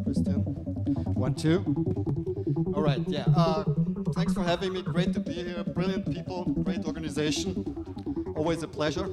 Christian. 1, 2. All right, yeah. Thanks for having me. Great to be here. Brilliant people, great organization. Always a pleasure.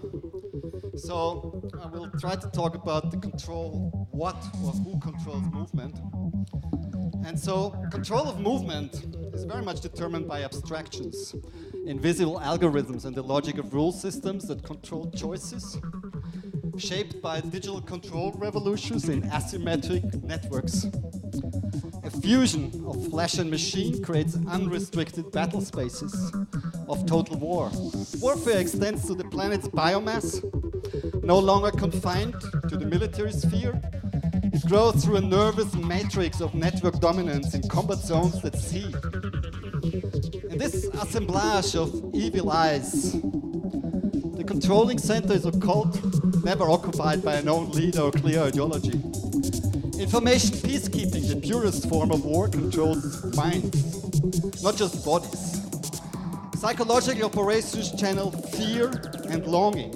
So I will try to talk about the control, what or who controls movement. And so control of movement is very much determined by abstractions, invisible algorithms and the logic of rule systems that control choices, shaped by digital control revolutions in asymmetric networks. A fusion of flesh and machine creates unrestricted battle spaces of total war. Warfare extends to the planet's biomass, no longer confined to the military sphere. It grows through a nervous matrix of network dominance in combat zones that see. In this assemblage of evil eyes, the controlling center is occult, never occupied by a known leader or clear ideology. Information peacekeeping, the purest form of war, controls minds, not just bodies. Psychological operations channel fear and longing.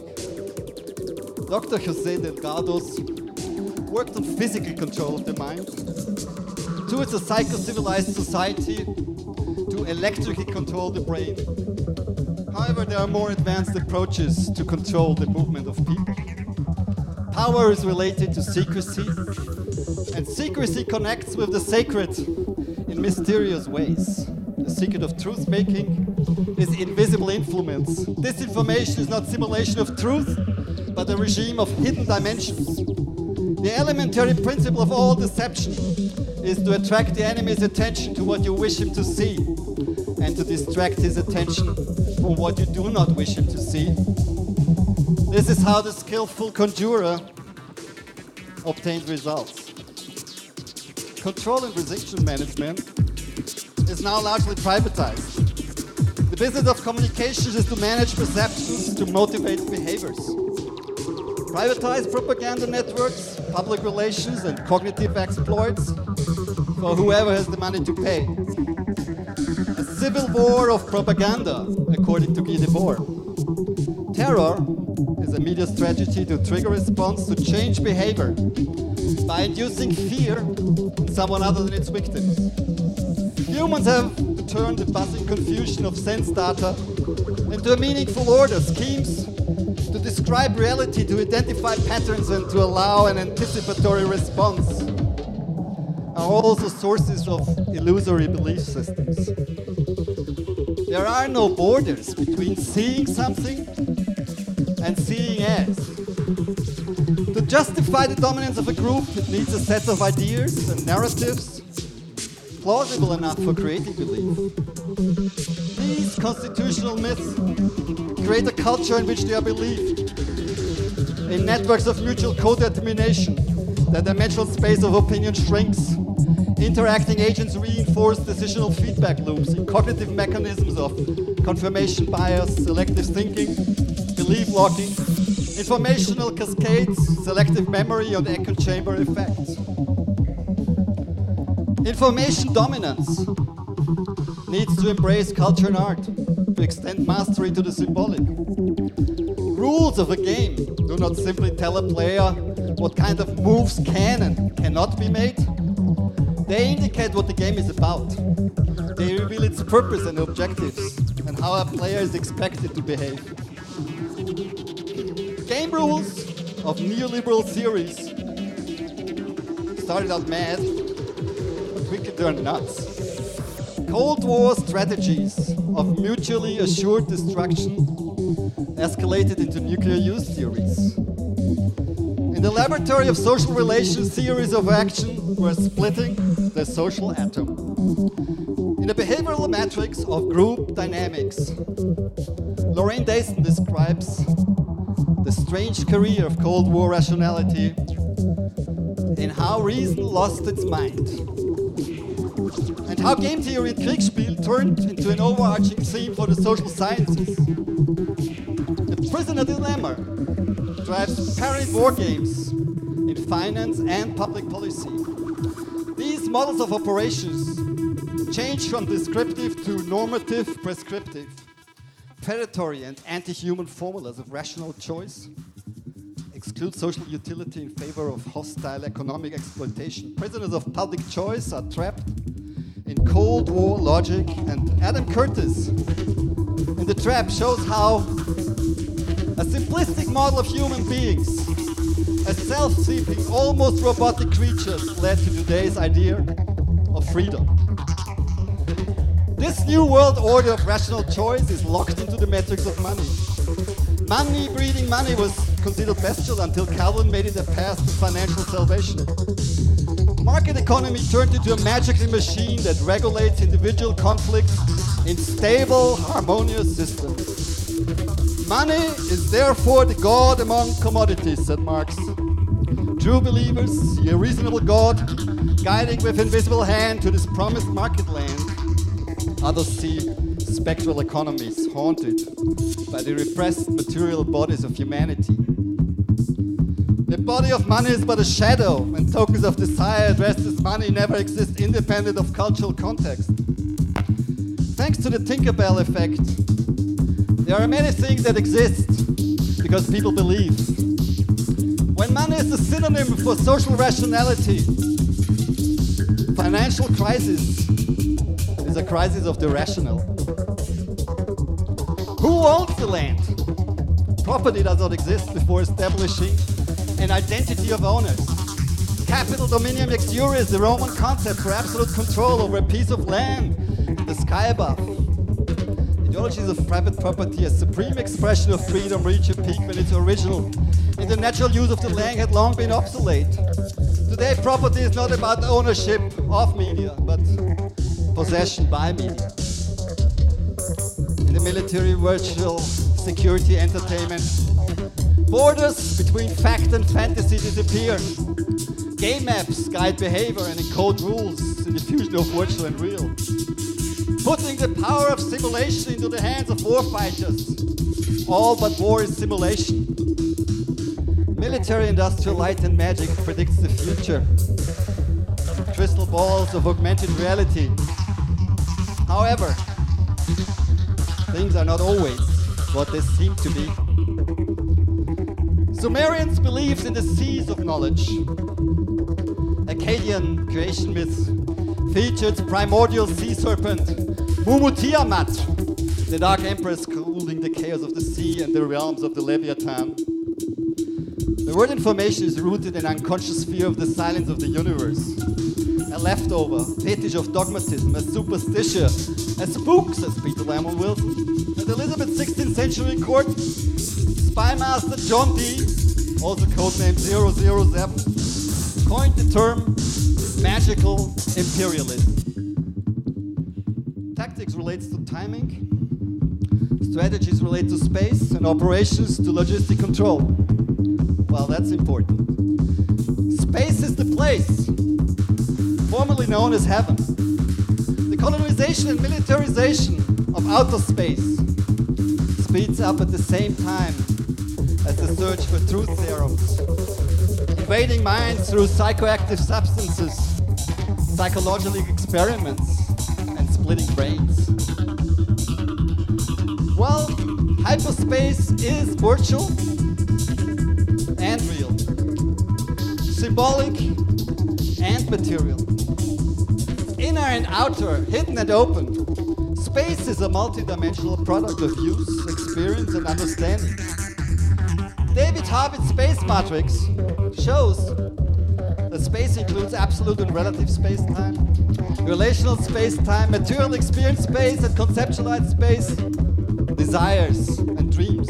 Dr. José Delgado's worked on physical control of the mind, towards a psycho-civilized society to electrically control the brain. However, there are more advanced approaches to control the movement of people. Power is related to secrecy, and secrecy connects with the sacred in mysterious ways. The secret of truth-making is invisible influence. This information is not simulation of truth, but a regime of hidden dimensions. The elementary principle of all deception is to attract the enemy's attention to what you wish him to see, and to distract his attention from what you do not wish him to see. This is how the skillful conjurer obtains results. Control and precision management is now largely privatized. The business of communications is to manage perceptions, to motivate behaviors. Privatized propaganda networks, public relations, and cognitive exploits for whoever has the money to pay. A civil war of propaganda, according to Guy Debord. Terror is a media strategy to trigger response to change behavior by inducing fear in someone other than its victims. Humans have to turn the buzzing confusion of sense data into a meaningful order, schemes to describe reality, to identify patterns, and to allow an anticipatory response are also sources of illusory belief systems. There are no borders between seeing something and seeing as. To justify the dominance of a group, it needs a set of ideas and narratives plausible enough for creating belief. These constitutional myths create a culture in which they are believed. In networks of mutual co-determination, the dimensional space of opinion shrinks. Interacting agents reinforce decisional feedback loops in cognitive mechanisms of confirmation bias, selective thinking, belief locking, informational cascades, selective memory, and echo chamber effects. Information dominance needs to embrace culture and art, to extend mastery to the symbolic. Rules of a game do not simply tell a player what kind of moves can and cannot be made. They indicate what the game is about. They reveal its purpose and objectives, and how a player is expected to behave. Game rules of neoliberal theories started out mad, but quickly turned nuts. Cold War strategies of mutually assured destruction escalated into nuclear use theories. In the laboratory of social relations, theories of action were splitting the social atom. In a behavioral matrix of group dynamics, Lorraine Dayson describes the strange career of Cold War rationality in how reason lost its mind, and how game theory and Kriegsspiel turned into an overarching theme for the social sciences. The prisoner dilemma drives parallel war games in finance and public policy. These models of operations change from descriptive to normative, prescriptive, predatory and anti-human formulas of rational choice, exclude social utility in favor of hostile economic exploitation. Prisoners of public choice are trapped in Cold War logic, and Adam Curtis in The Trap shows how a simplistic model of human beings, as self-seeking, almost robotic creatures, led to today's idea of freedom. This new world order of rational choice is locked into the metrics of money. Money breeding money was considered bestial until Calvin made it a path to financial salvation. Market economy turned into a magical machine that regulates individual conflicts in stable, harmonious systems. Money is therefore the God among commodities, said Marx. True believers see a reasonable God guiding with invisible hand to this promised market land. Others see spectral economies haunted by the repressed material bodies of humanity. The body of money is but a shadow, and tokens of desire addressed as money never exist independent of cultural context. Thanks to the Tinkerbell effect, there are many things that exist because people believe. When money is the synonym for social rationality, financial crisis is a crisis of the rational. Who owns the land? Property does not exist before establishing an identity of owners. Capital dominium ex jure is the Roman concept for absolute control over a piece of land in the sky above. Ideologies of private property as supreme expression of freedom reach a peak when its original and the natural use of the land had long been obsolete. Today, property is not about ownership of media, but possession by media. In the military, virtual security, entertainment, borders between fact and fantasy disappear. Game maps guide behavior and encode rules in the fusion of virtual and real. Putting the power of simulation into the hands of warfighters. All but war is simulation. Military, industrial, light and magic predicts the future. Crystal balls of augmented reality. However, things are not always what they seem to be. Sumerians believed in the seas of knowledge. Akkadian creation myths featured primordial sea serpent Mumutiamat, the dark empress ruling the chaos of the sea and the realms of the Leviathan. The word information is rooted in unconscious fear of the silence of the universe. A leftover, fetish of dogmatism, a superstition, a spook, says Peter Lamont Wilson. At Elizabeth's 16th century court, spy master John Dee, also codenamed 007, coined the term magical imperialism. Tactics relates to timing, strategies relate to space, and operations to logistic control. Well, that's important. Space is the place, formerly known as heaven. The colonization and militarization of outer space speeds up at the same time as the search for truth serums, invading minds through psychoactive substances, psychological experiments, and splitting brains. Well, hyperspace is virtual and real, symbolic and material, inner and outer, hidden and open. Space is a multidimensional product of use, experience, and understanding. David Harvey's space matrix shows that space includes absolute and relative space-time, relational space-time, material experience space, and conceptualized space, desires and dreams.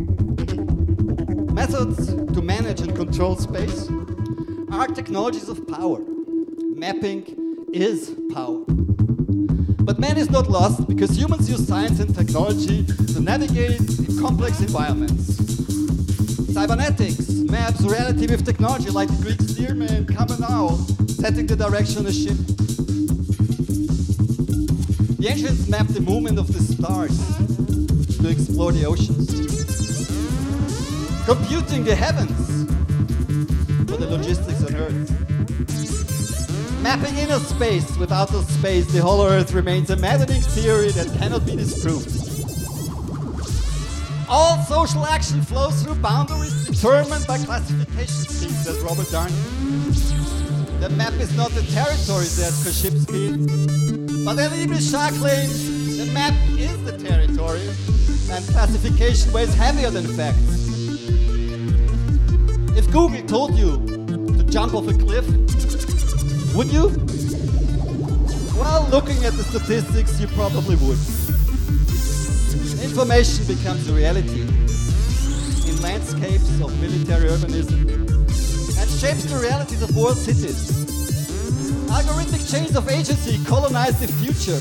Methods to manage and control space are technologies of power. Mapping is power. But man is not lost because humans use science and technology to navigate in complex environments. Cybernetics maps reality with technology like the Greek steerman Kamanao setting the direction of a ship. The ancients mapped the movement of the stars to explore the oceans. Computing the heavens for the logistics on Earth. Mapping inner space with outer space, the whole Earth remains a maddening theory that cannot be disproved. All social action flows through boundaries determined by classification schemes, says Robert Darnton. The map is not the territory, says Koszybski. But Elie Bichard claims the map is the territory, and classification weighs heavier than facts. If Google told you to jump off a cliff, would you? Well, looking at the statistics, you probably would. Information becomes a reality in landscapes of military urbanism and shapes the realities of world cities. Algorithmic chains of agency colonize the future.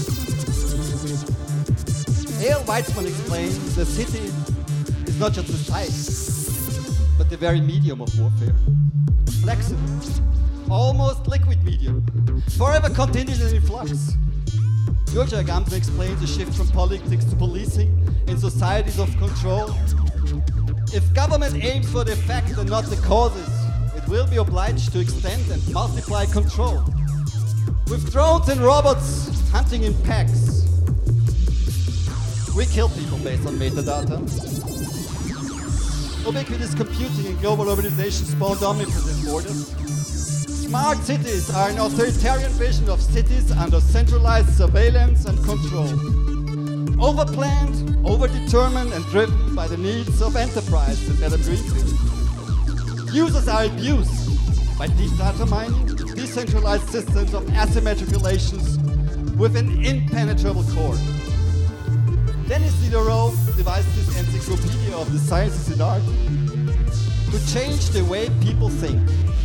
A.L. Weizmann explains the city is not just the site, but the very medium of warfare. Flexible, almost liquid medium, forever contingent and in flux. Georgia Agamben explains the shift from politics to policing in societies of control. If government aims for the effect and not the causes, it will be obliged to extend and multiply control. With drones and robots hunting in packs, we kill people based on metadata. Ubiquitous computing and global urbanization spawned omnipresent borders. Smart cities are an authoritarian vision of cities under centralized surveillance and control. Overplanned, overdetermined, and driven by the needs of enterprise, said Adam Greenfield. Users are abused by deep data mining, decentralized systems of asymmetric relations with an impenetrable core. Denis Diderot devised this encyclopedia of the sciences and art to change the way people think.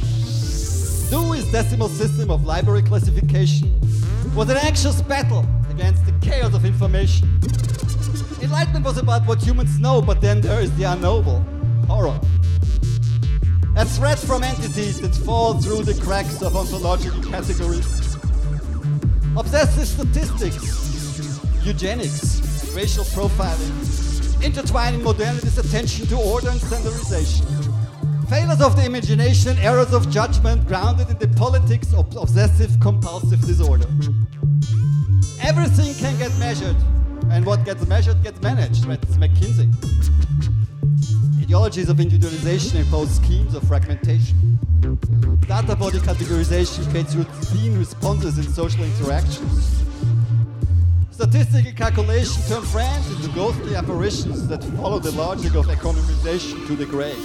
Dewey's decimal system of library classification was an anxious battle against the chaos of information. Enlightenment was about what humans know, but then there is the unknowable, horror. A threat from entities that fall through the cracks of ontological categories. Obsessive statistics, eugenics, and racial profiling, intertwining modernity's attention to order and standardization. Failures of the imagination, errors of judgment grounded in the politics of obsessive-compulsive disorder. Everything can get measured, and what gets measured gets managed, writes McKinsey. Ideologies of individualization impose schemes of fragmentation. Data body categorization creates routine responses in social interactions. Statistical calculation turns friends into ghostly apparitions that follow the logic of economization to the grave.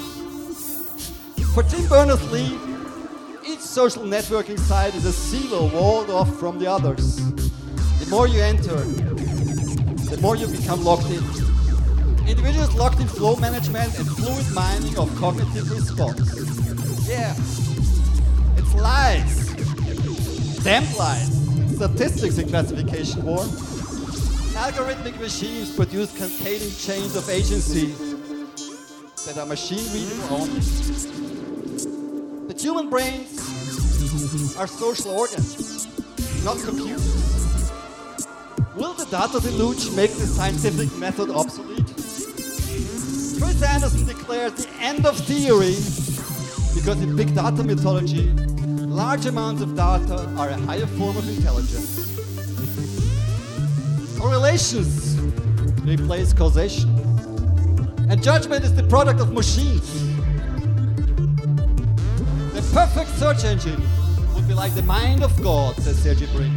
For Tim Berners-Lee, each social networking site is a silo walled off from the others. The more you enter, the more you become locked in. Individuals locked in flow management and fluid mining of cognitive response. Yeah, it's lies. Damn lies. Statistics in classification war. Algorithmic machines produce cascading chains of agency that are machine readable only. But human brains are social organs, not computers. Will the data deluge make the scientific method obsolete? Chris Anderson declares the end of theory because in big data mythology, large amounts of data are a higher form of intelligence. Correlations replace causation. And judgment is the product of machines. The perfect search engine would be like the mind of God, says Sergey Brin.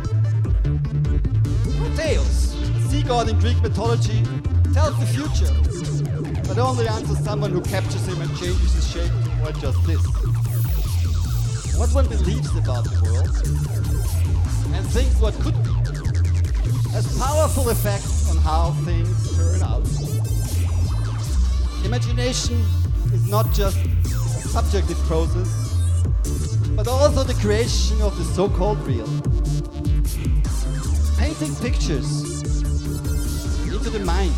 Proteus, a sea god in Greek mythology, tells the future, but only answers someone who captures him and changes his shape to avoid just this. What one believes about the world and thinks what could be has powerful effects on how things turn out. Imagination is not just a subjective process, but also the creation of the so-called real. Painting pictures into the mind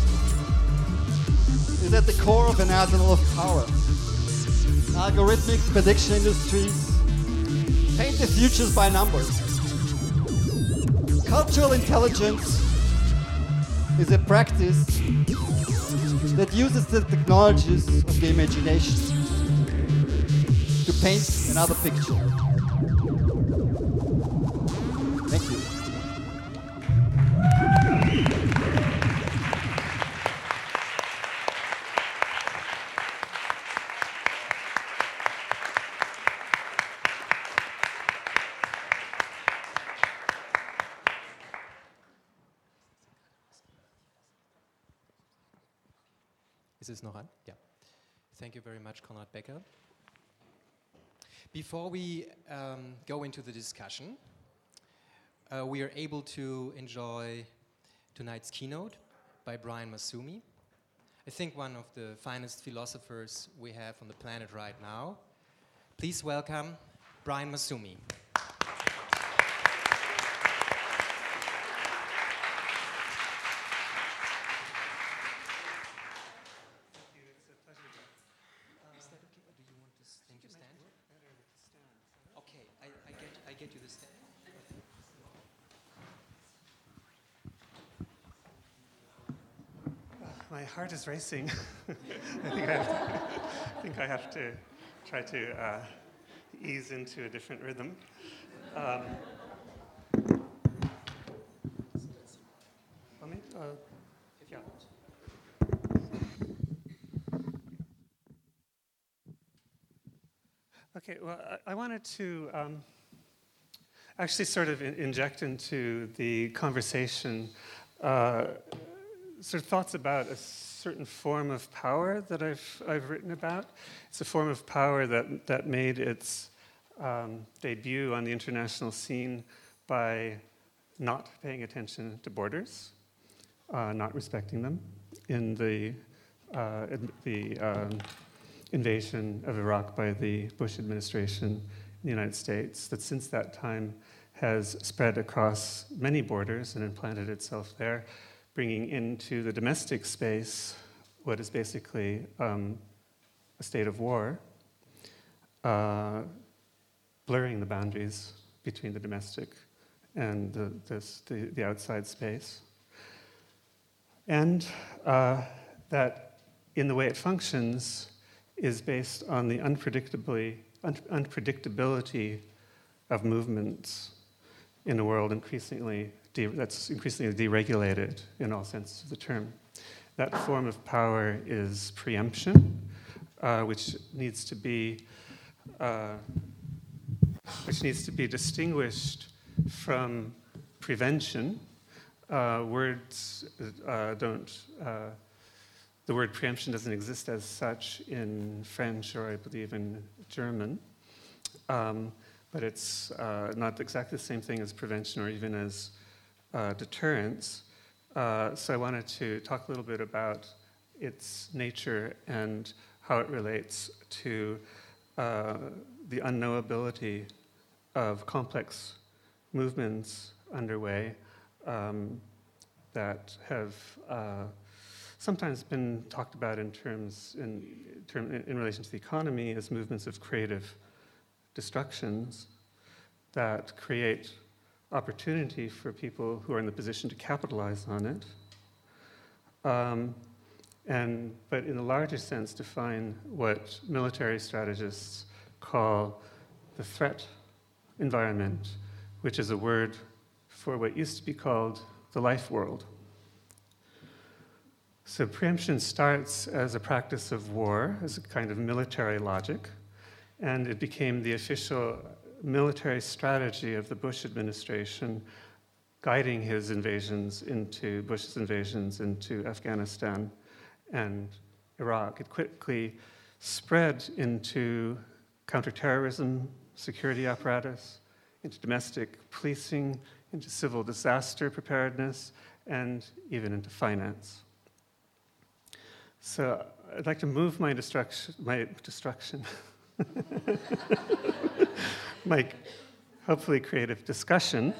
is at the core of an arsenal of power. Algorithmic prediction industries paint the futures by numbers. Cultural intelligence is a practice that uses the technologies of the imagination to paint another picture. Thank you. Is this noch on? Yeah. Thank you very much, Konrad Becker. Before we go into the discussion, we are able to enjoy tonight's keynote by Brian Massumi. I think one of the finest philosophers we have on the planet right now. Please welcome Brian Massumi. Get you the stand. My heart is racing. I think I have to try to ease into a different rhythm. Yeah. Okay. Well, I wanted to. Actually sort of inject into the conversation sort of thoughts about a certain form of power that I've written about. It's a form of power that made its debut on the international scene by not paying attention to borders, not respecting them in the invasion of Iraq by the Bush administration in the United States, that since that time has spread across many borders and implanted itself there, bringing into the domestic space what is basically a state of war, blurring the boundaries between the domestic and the outside space. And that in the way it functions is based on the unpredictability of movements in a world that's increasingly deregulated in all senses of the term. That form of power is preemption, which needs to be distinguished from prevention. The word preemption doesn't exist as such in French or I believe in German. But it's not exactly the same thing as prevention or even as deterrence. So I wanted to talk a little bit about its nature and how it relates to the unknowability of complex movements underway that have sometimes been talked about in relation to the economy as movements of creative destructions that create opportunity for people who are in the position to capitalize on it, but in a larger sense define what military strategists call the threat environment, which is a word for what used to be called the life world. So preemption starts as a practice of war, as a kind of military logic, and it became the official military strategy of the Bush administration, guiding Bush's invasions into Afghanistan and Iraq. It quickly spread into counterterrorism, security apparatus, into domestic policing, into civil disaster preparedness, and even into finance. So I'd like to move my destruction, my hopefully creative discussion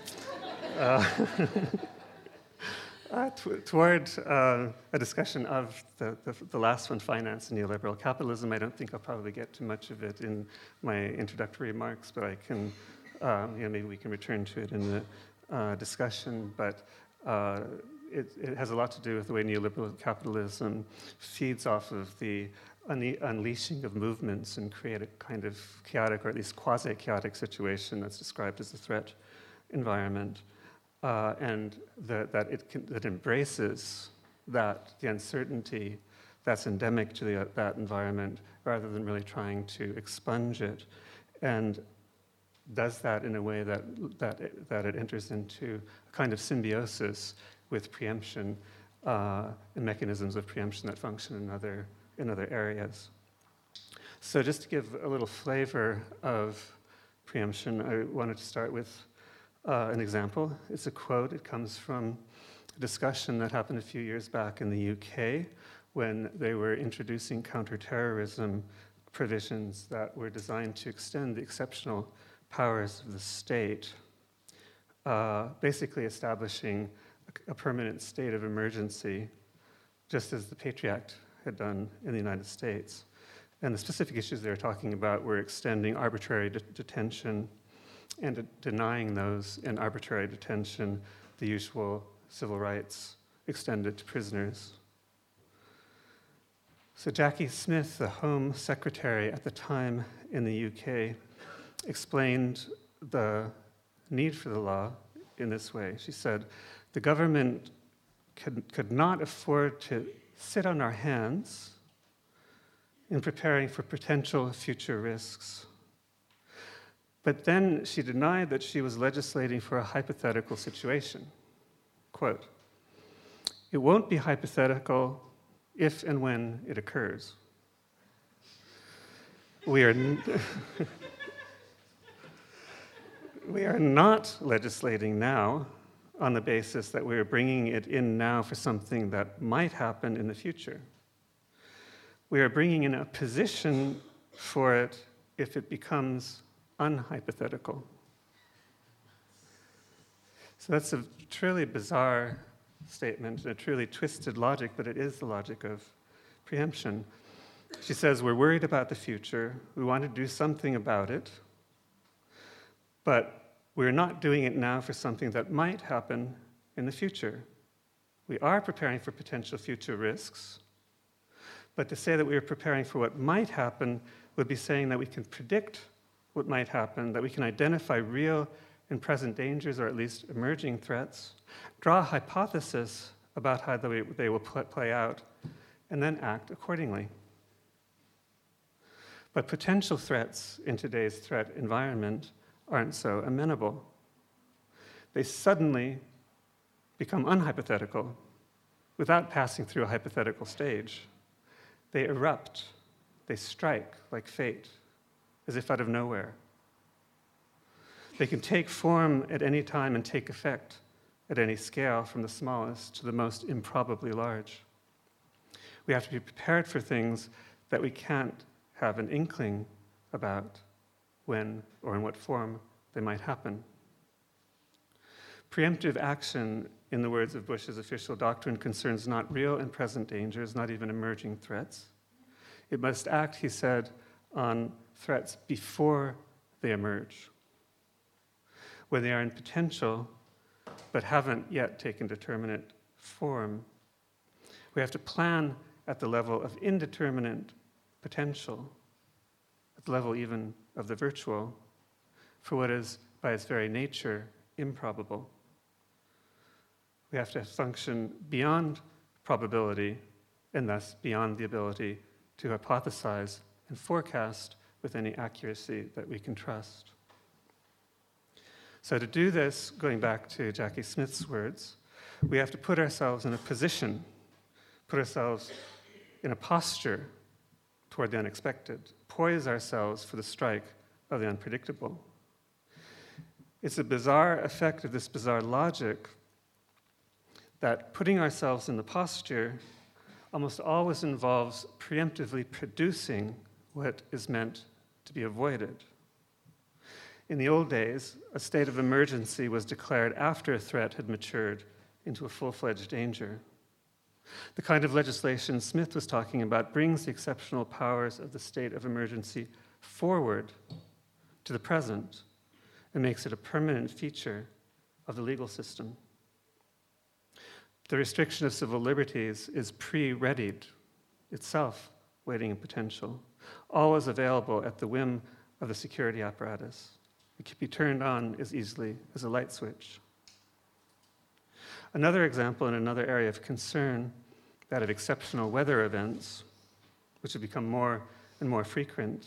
toward a discussion of the last one, finance and neoliberal capitalism. I don't think I'll probably get to much of it in my introductory remarks, but I can, maybe we can return to it in the discussion. But it has a lot to do with the way neoliberal capitalism feeds off of the unleashing of movements and create a kind of chaotic, or at least quasi-chaotic situation that's described as a threat environment, and that embraces the uncertainty that's endemic to that environment, rather than really trying to expunge it, and does that in a way that it enters into a kind of symbiosis with preemption and mechanisms of preemption that function in other in other areas. So just to give a little flavor of preemption, I wanted to start with an example. It's a quote. It comes from a discussion that happened a few years back in the UK when they were introducing counterterrorism provisions that were designed to extend the exceptional powers of the state, basically establishing a permanent state of emergency, just as the Patriot Act had done in the United States. And the specific issues they were talking about were extending arbitrary detention and denying those in arbitrary detention the usual civil rights extended to prisoners. So Jackie Smith, the Home Secretary at the time in the UK, explained the need for the law in this way. She said, the government could not afford to sit on our hands in preparing for potential future risks. But then she denied that she was legislating for a hypothetical situation. Quote, it won't be hypothetical if and when it occurs. We are not legislating now on the basis that we are bringing it in now for something that might happen in the future. We are bringing in a position for it if it becomes unhypothetical. So that's a truly bizarre statement, and a truly twisted logic, but it is the logic of preemption. She says, we're worried about the future, we want to do something about it, but we're not doing it now for something that might happen in the future. We are preparing for potential future risks, but to say that we are preparing for what might happen would be saying that we can predict what might happen, that we can identify real and present dangers, or at least emerging threats, draw a hypothesis about how they will play out, and then act accordingly. But potential threats in today's threat environment aren't so amenable. They suddenly become unhypothetical without passing through a hypothetical stage. They erupt, they strike like fate, as if out of nowhere. They can take form at any time and take effect at any scale, from the smallest to the most improbably large. We have to be prepared for things that we can't have an inkling about when or in what form they might happen. Preemptive action, in the words of Bush's official doctrine, concerns not real and present dangers, not even emerging threats. It must act, he said, on threats before they emerge, when they are in potential but haven't yet taken determinate form. We have to plan at the level of indeterminate potential, at the level even of the virtual, for what is, by its very nature, improbable. We have to function beyond probability, and thus beyond the ability to hypothesize and forecast with any accuracy that we can trust. So to do this, going back to Jackie Smith's words, we have to put ourselves in a position, put ourselves in a posture toward the unexpected, poise ourselves for the strike of the unpredictable. It's a bizarre effect of this bizarre logic that putting ourselves in the posture almost always involves preemptively producing what is meant to be avoided. In the old days, a state of emergency was declared after a threat had matured into a full-fledged danger. The kind of legislation Smith was talking about brings the exceptional powers of the state of emergency forward to the present and makes it a permanent feature of the legal system. The restriction of civil liberties is pre-readied, itself waiting in potential, always available at the whim of the security apparatus. It can be turned on as easily as a light switch. Another example in another area of concern, that of exceptional weather events, which have become more and more frequent.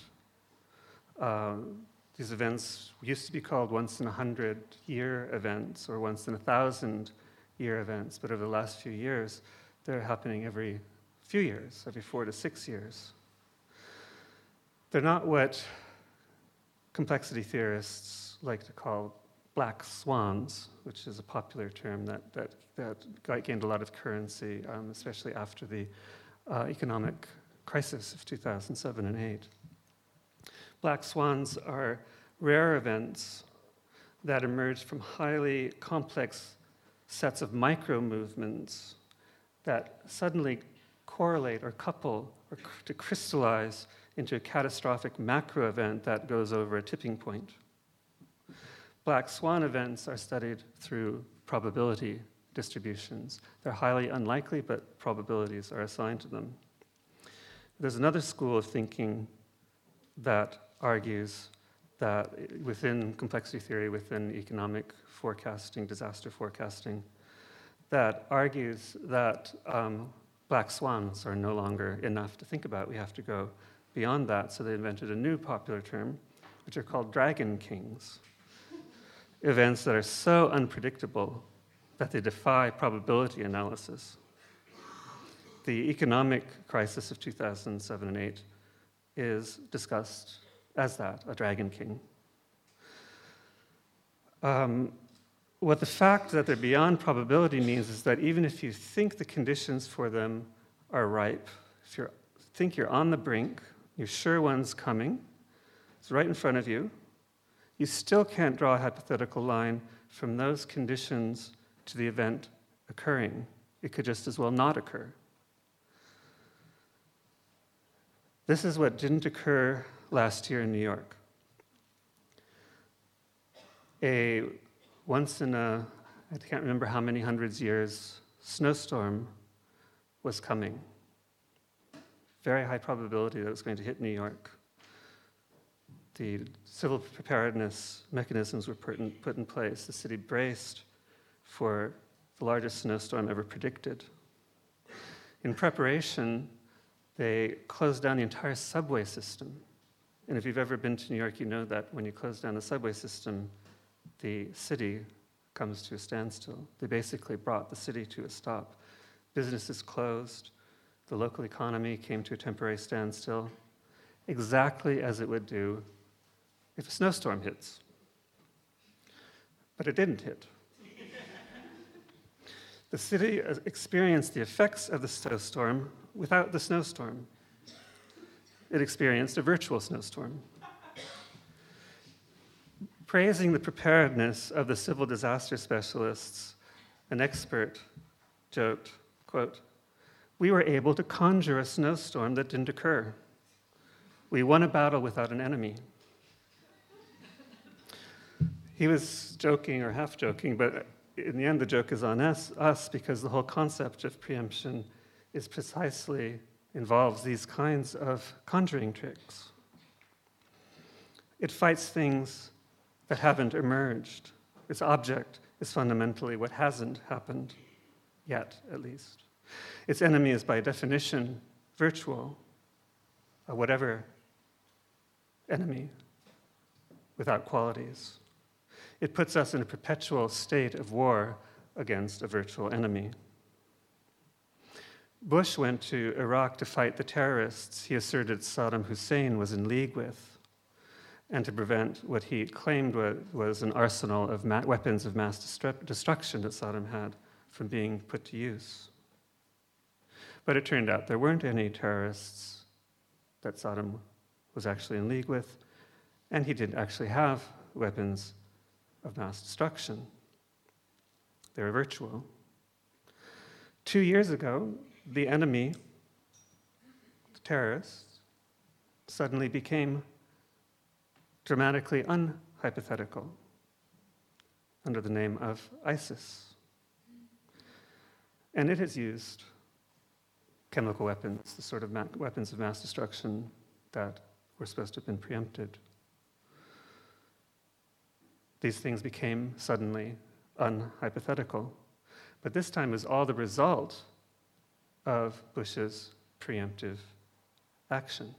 These events used to be called once-in-a-100-year events or once-in-a-1,000-year events, but over the last few years, they're happening every few years, every 4 to 6 years. They're not what complexity theorists like to call black swans, which is a popular term that gained a lot of currency, especially after the economic crisis of 2007 and 8. Black swans are rare events that emerge from highly complex sets of micro-movements that suddenly correlate or couple or to crystallize into a catastrophic macro event that goes over a tipping point. Black swan events are studied through probability distributions. They're highly unlikely, but probabilities are assigned to them. There's another school of thinking that argues that within complexity theory, within economic forecasting, disaster forecasting, that argues that black swans are no longer enough to think about. We have to go beyond that. So they invented a new popular term, which are called dragon kings. Events that are so unpredictable that they defy probability analysis. The economic crisis of 2007 and 8 is discussed as that, a dragon king. What the fact that they're beyond probability means is that even if you think the conditions for them are ripe, if you think you're on the brink, you're sure one's coming, it's right in front of you, you still can't draw a hypothetical line from those conditions to the event occurring. It could just as well not occur. This is what didn't occur last year in New York. A once in a, I can't remember how many hundreds years, snowstorm was coming. Very high probability that it was going to hit New York. The civil preparedness mechanisms were put in place. The city braced for the largest snowstorm ever predicted. In preparation, they closed down the entire subway system. And if you've ever been to New York, you know that when you close down the subway system, the city comes to a standstill. They basically brought the city to a stop. Businesses closed. The local economy came to a temporary standstill, exactly as it would do if a snowstorm hits. But it didn't hit. The city experienced the effects of the snowstorm without the snowstorm. It experienced a virtual snowstorm. Praising the preparedness of the civil disaster specialists, an expert joked, quote, "We were able to conjure a snowstorm that didn't occur. We won a battle without an enemy." He was joking or half joking, but in the end the joke is on us because the whole concept of preemption is precisely involves these kinds of conjuring tricks. It fights things that haven't emerged. Its object is fundamentally what hasn't happened yet, at least. Its enemy is by definition virtual, a whatever enemy without qualities. It puts us in a perpetual state of war against a virtual enemy. Bush went to Iraq to fight the terrorists he asserted Saddam Hussein was in league with, and to prevent what he claimed was an arsenal of weapons of mass destruction that Saddam had from being put to use. But it turned out there weren't any terrorists that Saddam was actually in league with, and he didn't actually have weapons of mass destruction. They were virtual. 2 years ago, the enemy, the terrorists, suddenly became dramatically unhypothetical under the name of ISIS. And it has used chemical weapons, the sort of weapons of mass destruction that were supposed to have been preempted. These things became suddenly unhypothetical. But this time is all the result of Bush's preemptive action.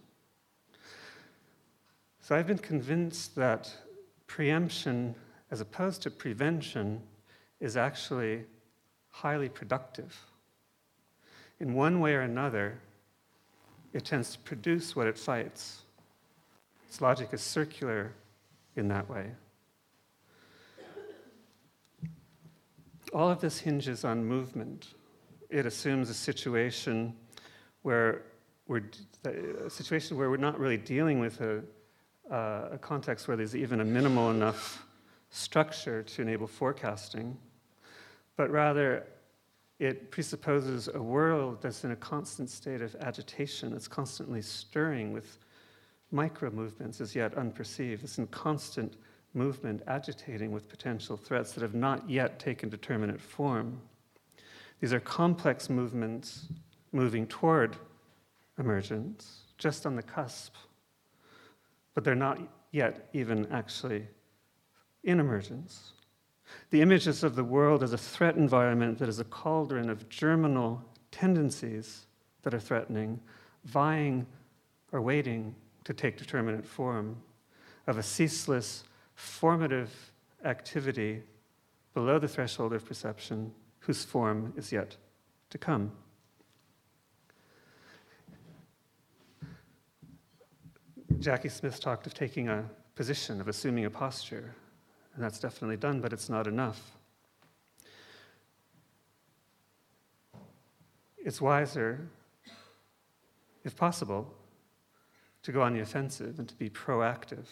So I've been convinced that preemption, as opposed to prevention, is actually highly productive. in one way or another, it tends to produce what it fights. Its logic is circular in that way. All of this hinges on movement. It assumes a situation where we're not really dealing with a context where there's even a minimal enough structure to enable forecasting, but rather it presupposes a world that's in a constant state of agitation, that's constantly stirring with micro movements as yet unperceived. It's in constant movement, agitating with potential threats that have not yet taken determinate form. These are complex movements moving toward emergence, just on the cusp, but they're not yet even actually in emergence. The images of the world as a threat environment that is a cauldron of germinal tendencies that are threatening, vying or waiting to take determinate form, of a ceaseless formative activity below the threshold of perception whose form is yet to come. Jackie Smith talked of taking a position, of assuming a posture, and that's definitely done, but it's not enough. It's wiser, if possible, to go on the offensive and to be proactive.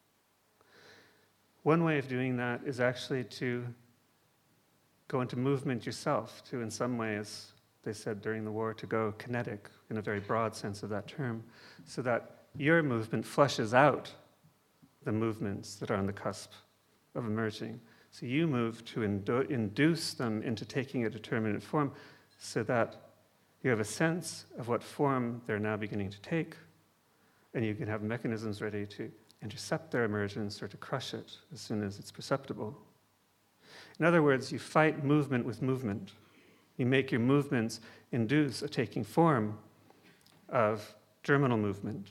One way of doing that is actually to go into movement yourself, to, in some ways, they said during the war, to go kinetic in a very broad sense of that term, so that your movement flushes out the movements that are on the cusp of emerging. So you move to induce them into taking a determinate form so that you have a sense of what form they're now beginning to take, and you can have mechanisms ready to intercept their emergence or to crush it as soon as it's perceptible. In other words, you fight movement with movement. You make your movements induce a taking form of germinal movement.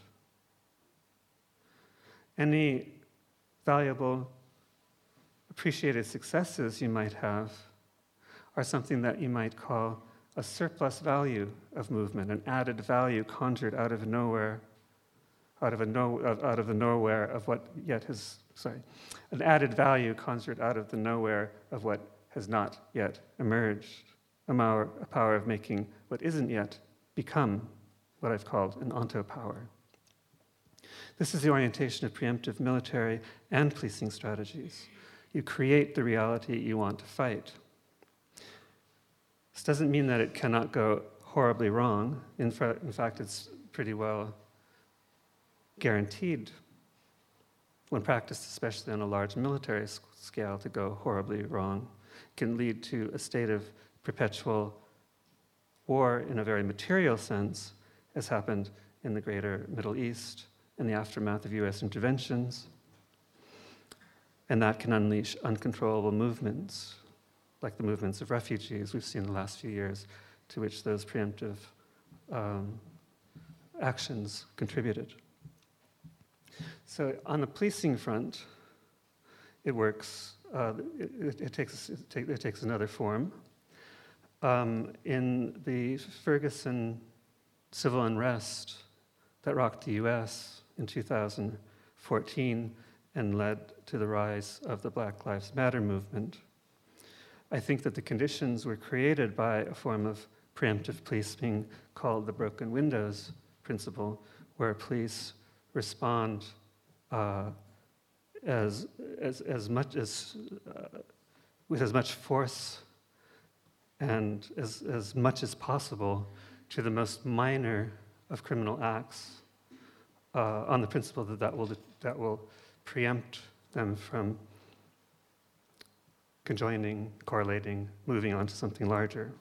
Any valuable, appreciated successes you might have are something that you might call a surplus value of movement, an added value conjured out of nowhere, an added value conjured out of the nowhere of what has not yet emerged, a power of making what isn't yet become what I've called an onto-power. This is the orientation of preemptive military and policing strategies. You create the reality you want to fight. This doesn't mean that it cannot go horribly wrong. In fact, it's pretty well guaranteed, when practiced especially on a large military scale, to go horribly wrong. It can lead to a state of perpetual war in a very material sense, as happened in the greater Middle East in the aftermath of US interventions. And that can unleash uncontrollable movements, like the movements of refugees we've seen in the last few years, to which those preemptive actions contributed. So on the policing front, it works. It takes another form. In the Ferguson civil unrest that rocked the U.S. in 2014 and led to the rise of the Black Lives Matter movement, I think that the conditions were created by a form of preemptive policing called the broken windows principle, where police respond with as much force and as much as possible to the most minor of criminal acts, on the principle that will preempt them from conjoining, correlating, moving on to something larger.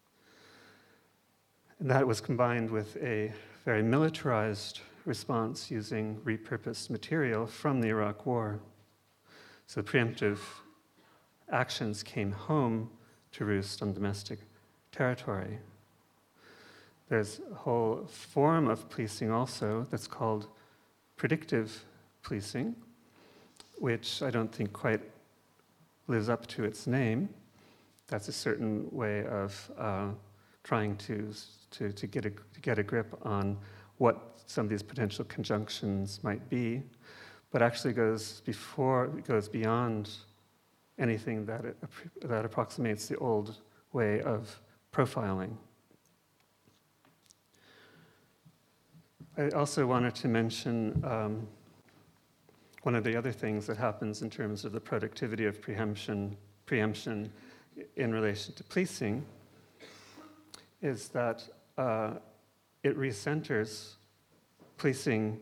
And that was combined with a very militarized response using repurposed material from the Iraq War. So preemptive actions came home to roost on domestic territory. There's a whole form of policing also that's called predictive policing, which I don't think quite lives up to its name. That's a certain way of trying to get a grip on what some of these potential conjunctions might be, but actually goes beyond anything that approximates the old way of profiling. I also wanted to mention one of the other things that happens in terms of the productivity of preemption in relation to policing is that it recenters policing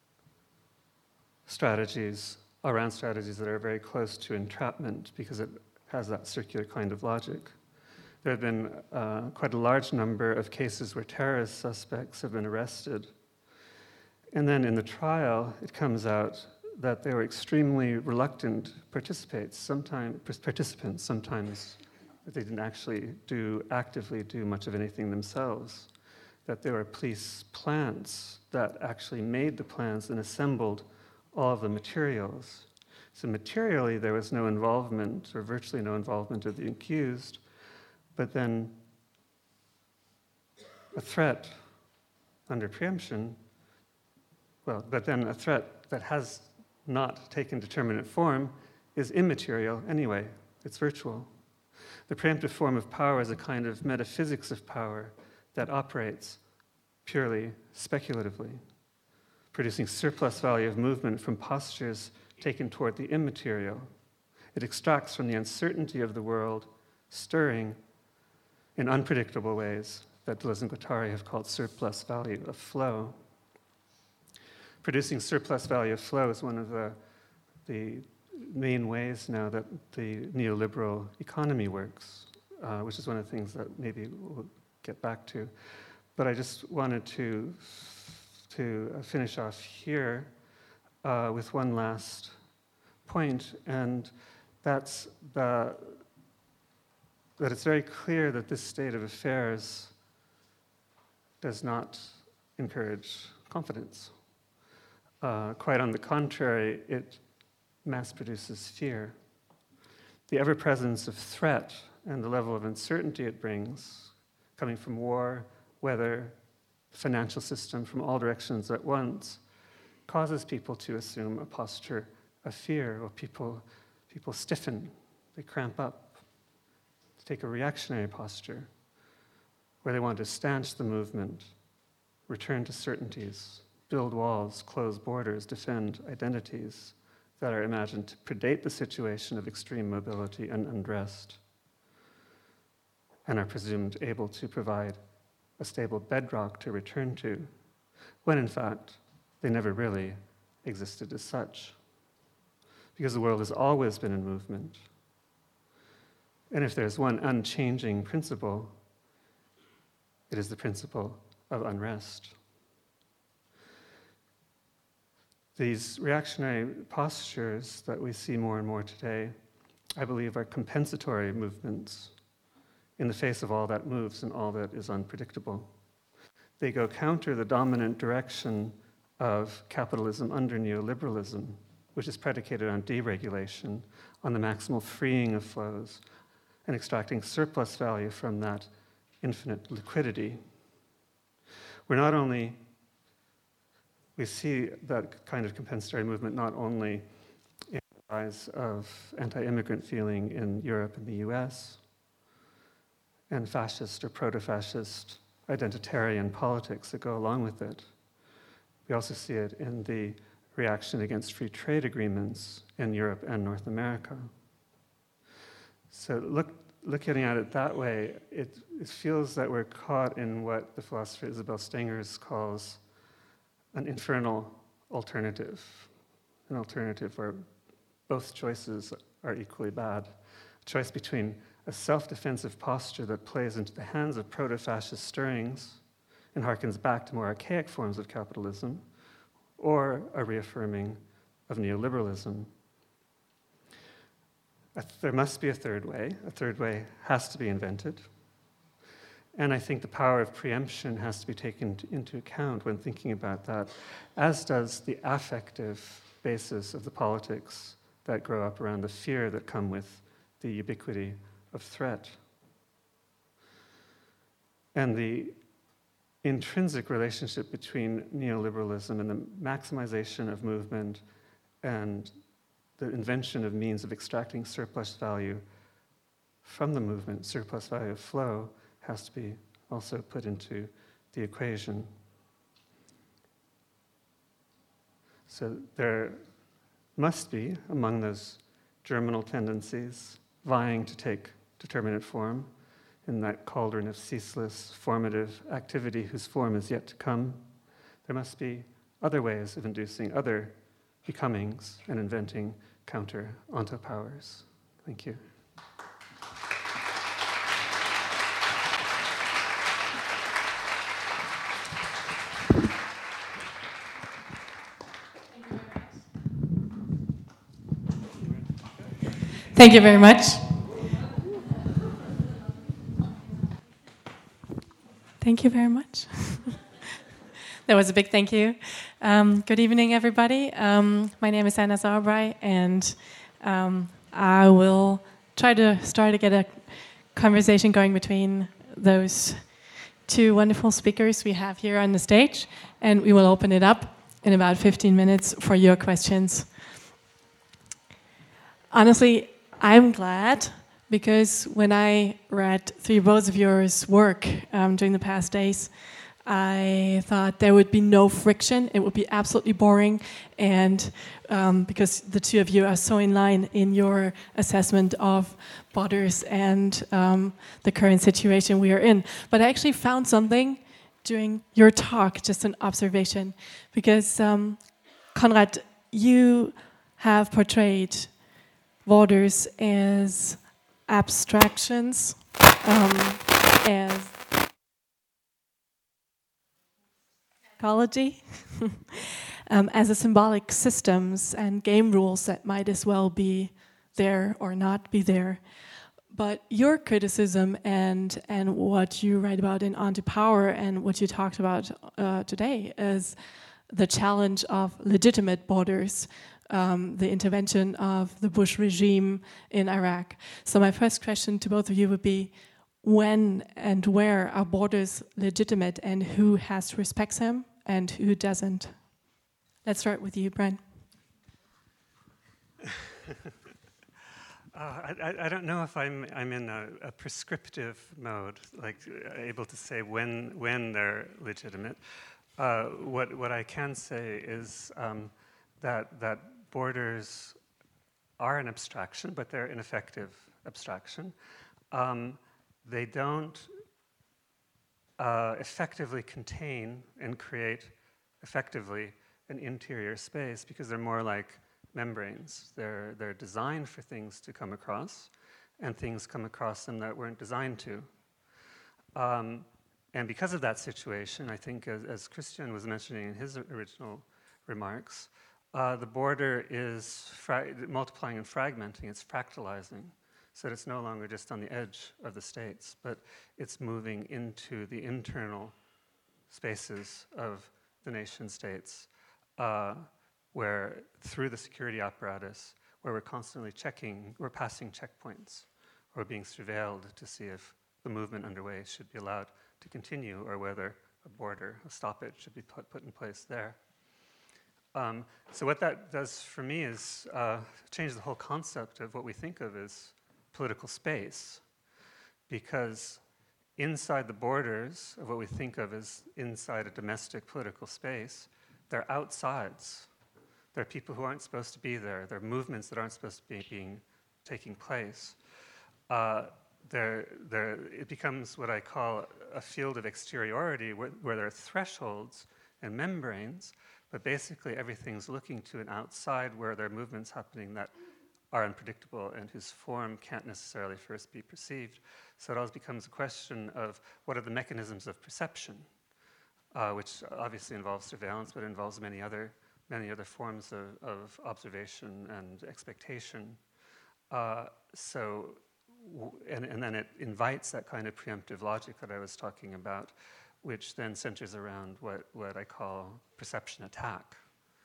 strategies around strategies that are very close to entrapment because it has that circular kind of logic. There have been quite a large number of cases where terrorist suspects have been arrested. And then in the trial, it comes out that they were extremely reluctant participants. Sometimes they didn't actually actively do much of anything themselves. That there were police plants that actually made the plans and assembled all of the materials. So materially, there was no involvement, or virtually no involvement of the accused, but then a threat under preemption, but then a threat that has not taken determinate form is immaterial anyway. It's virtual. The preemptive form of power is a kind of metaphysics of power that operates purely speculatively, producing surplus value of movement from postures taken toward the immaterial. It extracts from the uncertainty of the world, stirring in unpredictable ways that Deleuze and Guattari have called surplus value of flow. Producing surplus value of flow is one of the main ways now that the neoliberal economy works, which is one of the things that maybe we'll get back to. But I just wanted to finish off here with one last point, and that's that it's very clear that this state of affairs does not encourage confidence. Quite on the contrary, it mass produces fear. The ever-presence of threat and the level of uncertainty it brings, coming from war, weather, financial system, from all directions at once, causes people to assume a posture of fear, or people stiffen, they cramp up, take a reactionary posture, where they want to stanch the movement, return to certainties, build walls, close borders, defend identities that are imagined to predate the situation of extreme mobility and unrest, and are presumed able to provide a stable bedrock to return to, when in fact they never really existed as such, because the world has always been in movement. And if there's one unchanging principle, it is the principle of unrest. These reactionary postures that we see more and more today, I believe, are compensatory movements in the face of all that moves and all that is unpredictable. They go counter the dominant direction of capitalism under neoliberalism, which is predicated on deregulation, on the maximal freeing of flows, and extracting surplus value from that infinite liquidity. We see that kind of compensatory movement not only in the rise of anti-immigrant feeling in Europe and the US, and fascist or proto-fascist identitarian politics that go along with it. We also see it in the reaction against free trade agreements in Europe and North America. So looking at it that way, it feels that we're caught in what the philosopher Isabel Stengers calls an infernal alternative, an alternative where both choices are equally bad. A choice between a self-defensive posture that plays into the hands of proto-fascist stirrings and harkens back to more archaic forms of capitalism, or a reaffirming of neoliberalism. There must be a third way. A third way has to be invented. And I think the power of preemption has to be taken into account when thinking about that, as does the affective basis of the politics that grow up around the fear that come with the ubiquity of threat. and the intrinsic relationship between neoliberalism and the maximization of movement and the invention of means of extracting surplus value from the movement, surplus value of flow, has to be also put into the equation. So there must be, among those germinal tendencies, vying to take determinate form in that cauldron of ceaseless formative activity whose form is yet to come, there must be other ways of inducing other becomings and inventing counter-ontopowers. Thank you. Thank you very much. Thank you very much. That was a big thank you. Good evening, everybody. My name is Anna Sauerbrei, and I will try to start to get a conversation going between those two wonderful speakers we have here on the stage, and we will open it up in about 15 minutes for your questions. Honestly, I'm glad, because when I read through both of your work during the past days, I thought there would be no friction. It would be absolutely boring, and because the two of you are so in line in your assessment of borders and the current situation we are in. But I actually found something during your talk, just an observation, because Konrad, you have portrayed borders as abstractions, as ecology, as a symbolic systems and game rules that might as well be there or not be there. But your criticism and what you write about in On to Power and what you talked about today is the challenge of legitimate borders, the intervention of the Bush regime in Iraq. So my first question to both of you would be, when and where are borders legitimate, and who has to respect them and who doesn't? Let's start with you, Brian. I don't know if I'm in a prescriptive mode, like able to say when they're legitimate. What I can say is that borders are an abstraction, but they're an effective abstraction. They don't effectively contain and create effectively an interior space, because they're more like membranes. They're designed for things to come across, and things come across them that weren't designed to. And because of that situation, I think, as Christian was mentioning in his original remarks, the border is multiplying and fragmenting, it's fractalizing, so that it's no longer just on the edge of the states, but it's moving into the internal spaces of the nation states, where through the security apparatus, where we're constantly checking, we're passing checkpoints, or being surveilled to see if the movement underway should be allowed to continue, or whether a border, a stoppage should be put in place there. So what that does for me is change the whole concept of what we think of as political space, because inside the borders of what we think of as inside a domestic political space, they're outsides. There are people who aren't supposed to be there. There are movements that aren't supposed to be taking place. It becomes what I call a field of exteriority, where there are thresholds and membranes, but basically everything's looking to an outside where there are movements happening that are unpredictable and whose form can't necessarily first be perceived. So it always becomes a question of what are the mechanisms of perception, which obviously involves surveillance, but involves many other forms of observation and expectation. And then it invites that kind of preemptive logic that I was talking about, which then centers around what I call perception attack.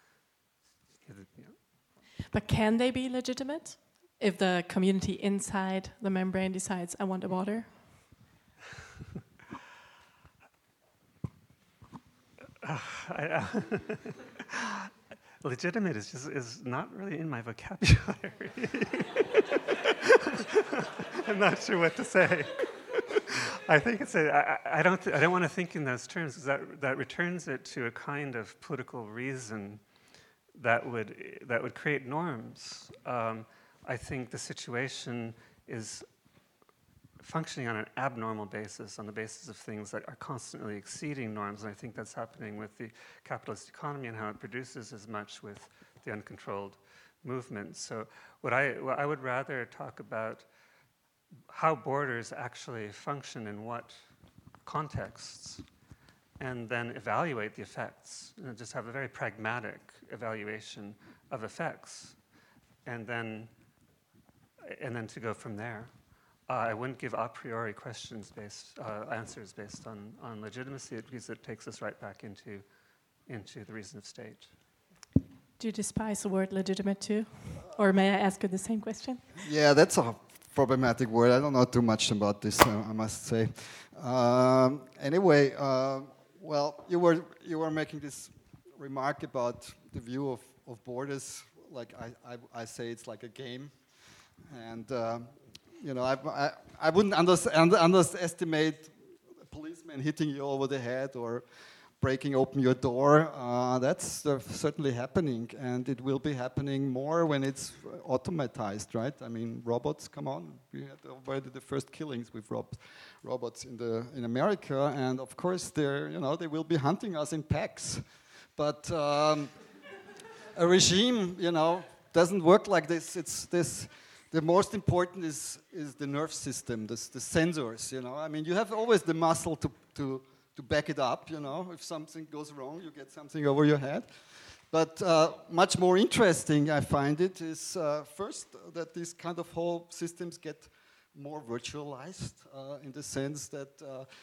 But can they be legitimate if the community inside the membrane decides, I want a border? Legitimate is not really in my vocabulary. I'm not sure what to say. I think it's I don't want to think in those terms, because that returns it to a kind of political reason that would create norms. I think the situation is functioning on an abnormal basis, on the basis of things that are constantly exceeding norms, and I think that's happening with the capitalist economy and how it produces as much with the uncontrolled movement. So what I would rather talk about how borders actually function in what contexts, and then evaluate the effects, and just have a very pragmatic evaluation of effects, and then to go from there. I wouldn't give a priori answers based on legitimacy, because it takes us right back into the reason of state. Do you despise the word legitimate too? Or may I ask you the same question? Yeah, that's a problematic word. I don't know too much about this, I must say. Anyway, well, you were making this remark about the view of borders. Like I say, it's like a game, and I wouldn't underestimate a policeman hitting you over the head or breaking open your door. That's certainly happening, and it will be happening more when it's automatized, right? I mean, robots, come on. We had already the first killings with robots in America, and of course they will be hunting us in packs. But a regime, doesn't work like this. It's this. The most important is the nerve system, the sensors. I mean, you have always the muscle to back it up. If something goes wrong, you get something over your head. But much more interesting, I find it, is first that these kind of whole systems get more virtualized in the sense that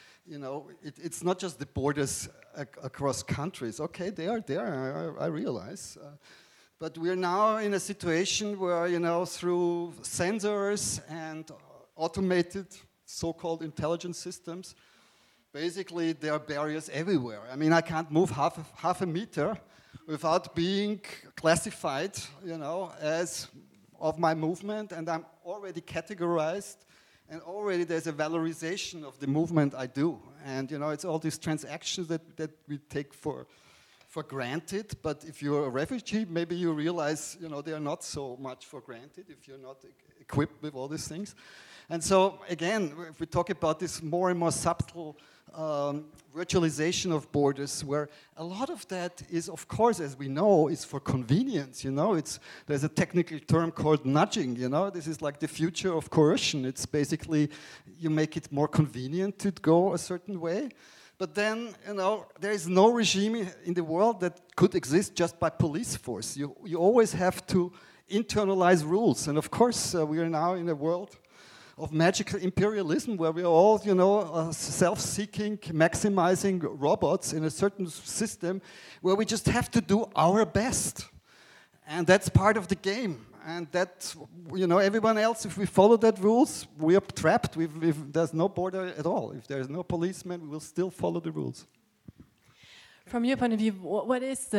it's not just the borders across countries. Okay, they are there. I realize. But we're now in a situation where, through sensors and automated so-called intelligence systems, basically there are barriers everywhere. I mean, I can't move half a meter without being classified, as of my movement, and I'm already categorized, and already there's a valorization of the movement I do. And, it's all these transactions that we take for granted, but if you're a refugee, maybe you realize, they are not so much for granted if you're not equipped with all these things. And so, again, if we talk about this more and more subtle virtualization of borders, where a lot of that is, of course, as we know, is for convenience, there's a technical term called nudging, this is like the future of coercion. It's basically, you make it more convenient to go a certain way. But then, there is no regime in the world that could exist just by police force. You always have to internalize rules. And of course, we are now in a world of magical imperialism where we are all, self-seeking, maximizing robots in a certain system where we just have to do our best. And that's part of the game. And that, everyone else, if we follow that rules, we are trapped. There's no border at all. If there's no policeman, we will still follow the rules. From your point of view, what is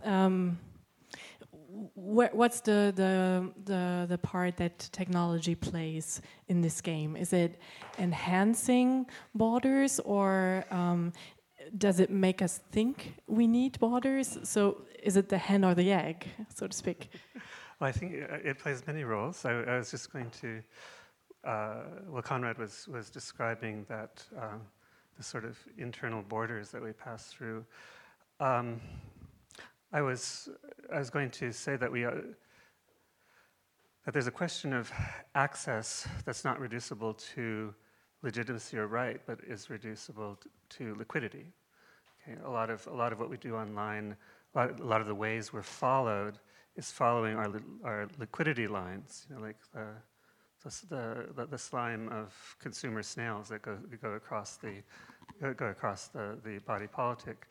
what's the part that technology plays in this game? Is it enhancing borders, or does it make us think we need borders? So is it the hen or the egg, so to speak? Well, I think it plays many roles. I was just going to, Conrad was describing that the sort of internal borders that we pass through. I was going to say that that there's a question of access that's not reducible to legitimacy or right, but is reducible to liquidity. Okay, a lot of what we do online, a lot of the ways we're followed is following our liquidity lines, like the slime of consumer snails that go across the body politic,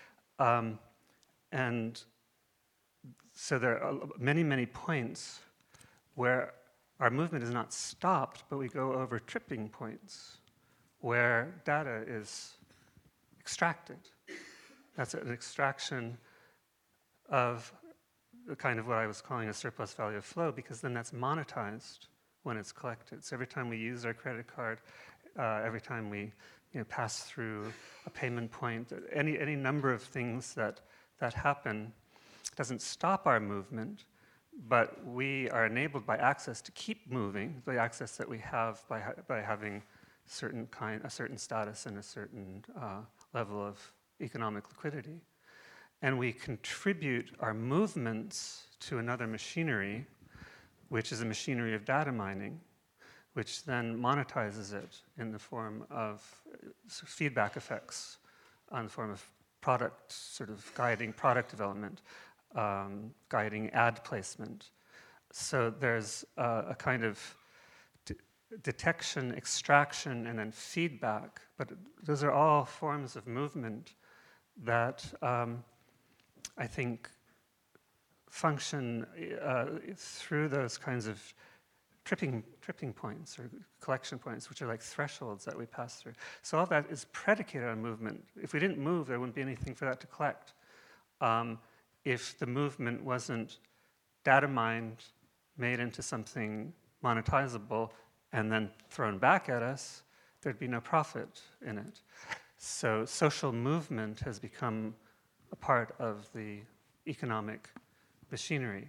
and so there are many points where our movement is not stopped, but we go over tripping points where data is extracted, That's an extraction of the kind of what I was calling a surplus value of flow, because then that's monetized when it's collected. So every time we use our credit card, every time we pass through a payment point, any number of things that happen doesn't stop our movement, but we are enabled by access to keep moving, the access that we have by having a certain status and a certain level of economic liquidity. And we contribute our movements to another machinery, which is a machinery of data mining, which then monetizes it in the form of feedback effects, on the form of product, sort of guiding product development, guiding ad placement. So there's a kind of detection, extraction, and then feedback. But those are all forms of movement that I think function through those kinds of tripping points or collection points, which are like thresholds that we pass through. So all that is predicated on movement. If we didn't move, there wouldn't be anything for that to collect. If the movement wasn't data mined, made into something monetizable, and then thrown back at us, there'd be no profit in it. So social movement has become a part of the economic machinery.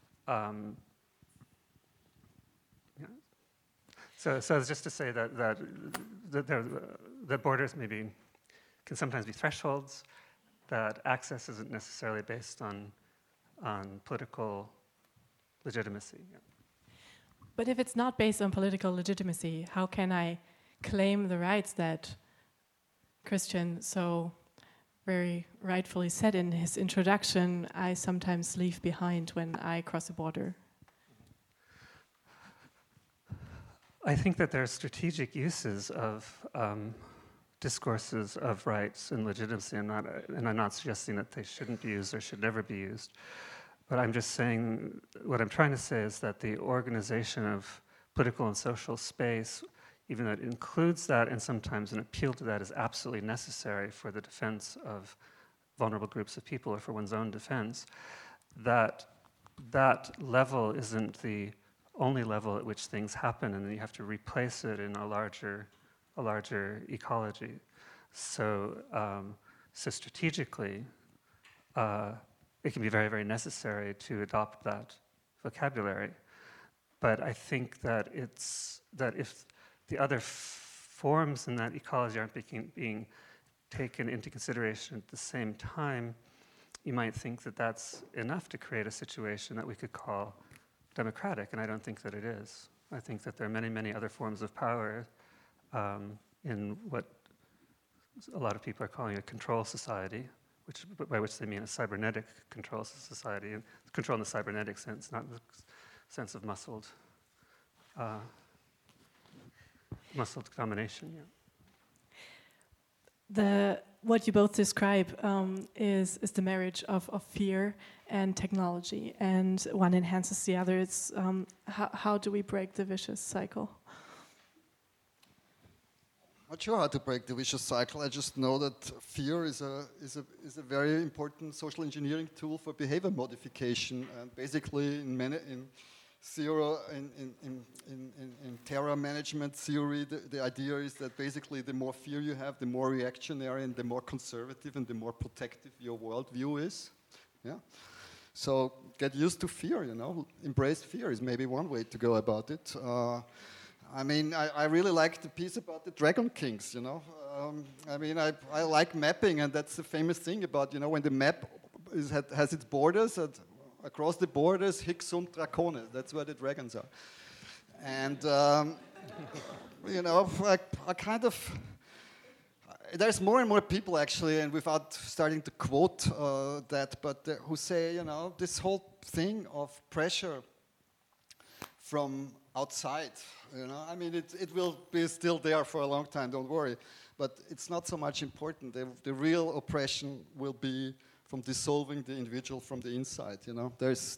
So it's just to say that borders maybe can sometimes be thresholds, that access isn't necessarily based on political legitimacy. Yeah. But if it's not based on political legitimacy, how can I claim the rights that Christian so very rightfully said in his introduction, I sometimes leave behind when I cross a border? I think that there are strategic uses of discourses of rights and legitimacy, and I'm not suggesting that they shouldn't be used or should never be used. But I'm just saying, what I'm trying to say is that the organization of political and social space, even though it includes that and sometimes an appeal to that, is absolutely necessary for the defense of vulnerable groups of people or for one's own defense, that level isn't the only level at which things happen, and then you have to replace it in a larger ecology. So strategically, it can be very, very necessary to adopt that vocabulary. But I think that if the other forms in that ecology aren't being taken into consideration at the same time, you might think that that's enough to create a situation that we could call democratic, and I don't think that it is. I think that there are many, many other forms of power in what a lot of people are calling a control society, by which they mean a cybernetic control society, and control in the cybernetic sense, not in the sense of muscled domination. Yeah. What you both describe is the marriage of fear and technology, and one enhances the other. It's how do we break the vicious cycle? Not sure how to break the vicious cycle. I just know that fear is a very important social engineering tool for behavior modification. And basically, in terror management theory, the idea is that basically the more fear you have, the more reactionary and the more conservative and the more protective your worldview is. Yeah. So get used to fear. Embrace fear is maybe one way to go about it. I really like the piece about the Dragon Kings, I like mapping, and that's the famous thing about, when the map has its borders, across the borders, hic sunt dracones, that's where the dragons are. And, there's more and more people actually, and without starting to quote that, but who say, this whole thing of pressure from outside, it will be still there for a long time, don't worry. But it's not so much important. The real oppression will be from dissolving the individual from the inside, There's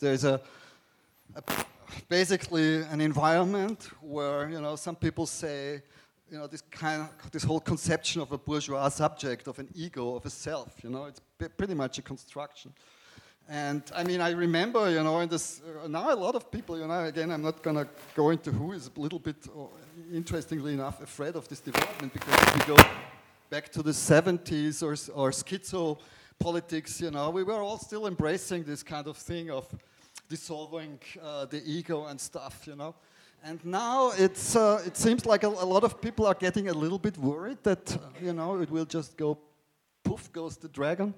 basically an environment where, some people say this whole conception of a bourgeois subject, of an ego, of a self. It's pretty much a construction. And I mean, I remember, in this, now a lot of people, again, I'm not going to go into who is a little bit, interestingly enough, afraid of this development, because if we go back to the 70s or schizo politics, we were all still embracing this kind of thing of dissolving the ego and stuff, And now it seems like a lot of people are getting a little bit worried that, it will just go, poof goes the dragon.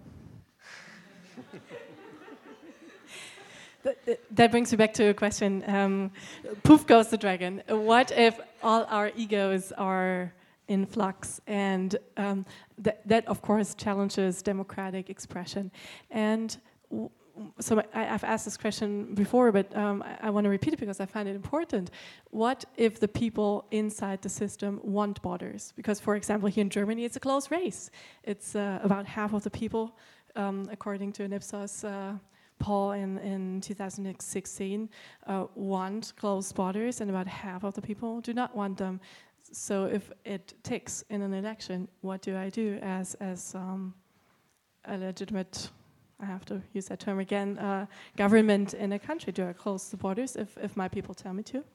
That brings me back to a question. Poof goes the dragon. What if all our egos are in flux? And that, of course, challenges democratic expression. And so I've asked this question before, but I want to repeat it because I find it important. What if the people inside the system want borders? Because, for example, here in Germany, it's a close race. It's about half of the people, according to an Ipsos poll in 2016, want closed borders, and about half of the people do not want them. So if it ticks in an election, what do I do as a legitimate, I have to use that term again, government in a country? Do I close the borders if my people tell me to?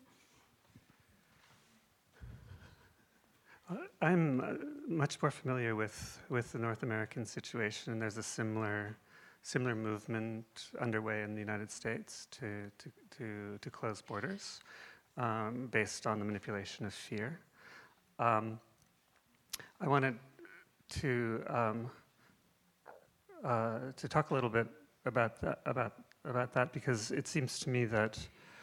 I'm much more familiar with the North American situation, and there's a similar movement underway in the United States to close borders based on the manipulation of fear. I wanted to talk a little bit about that because it seems to me that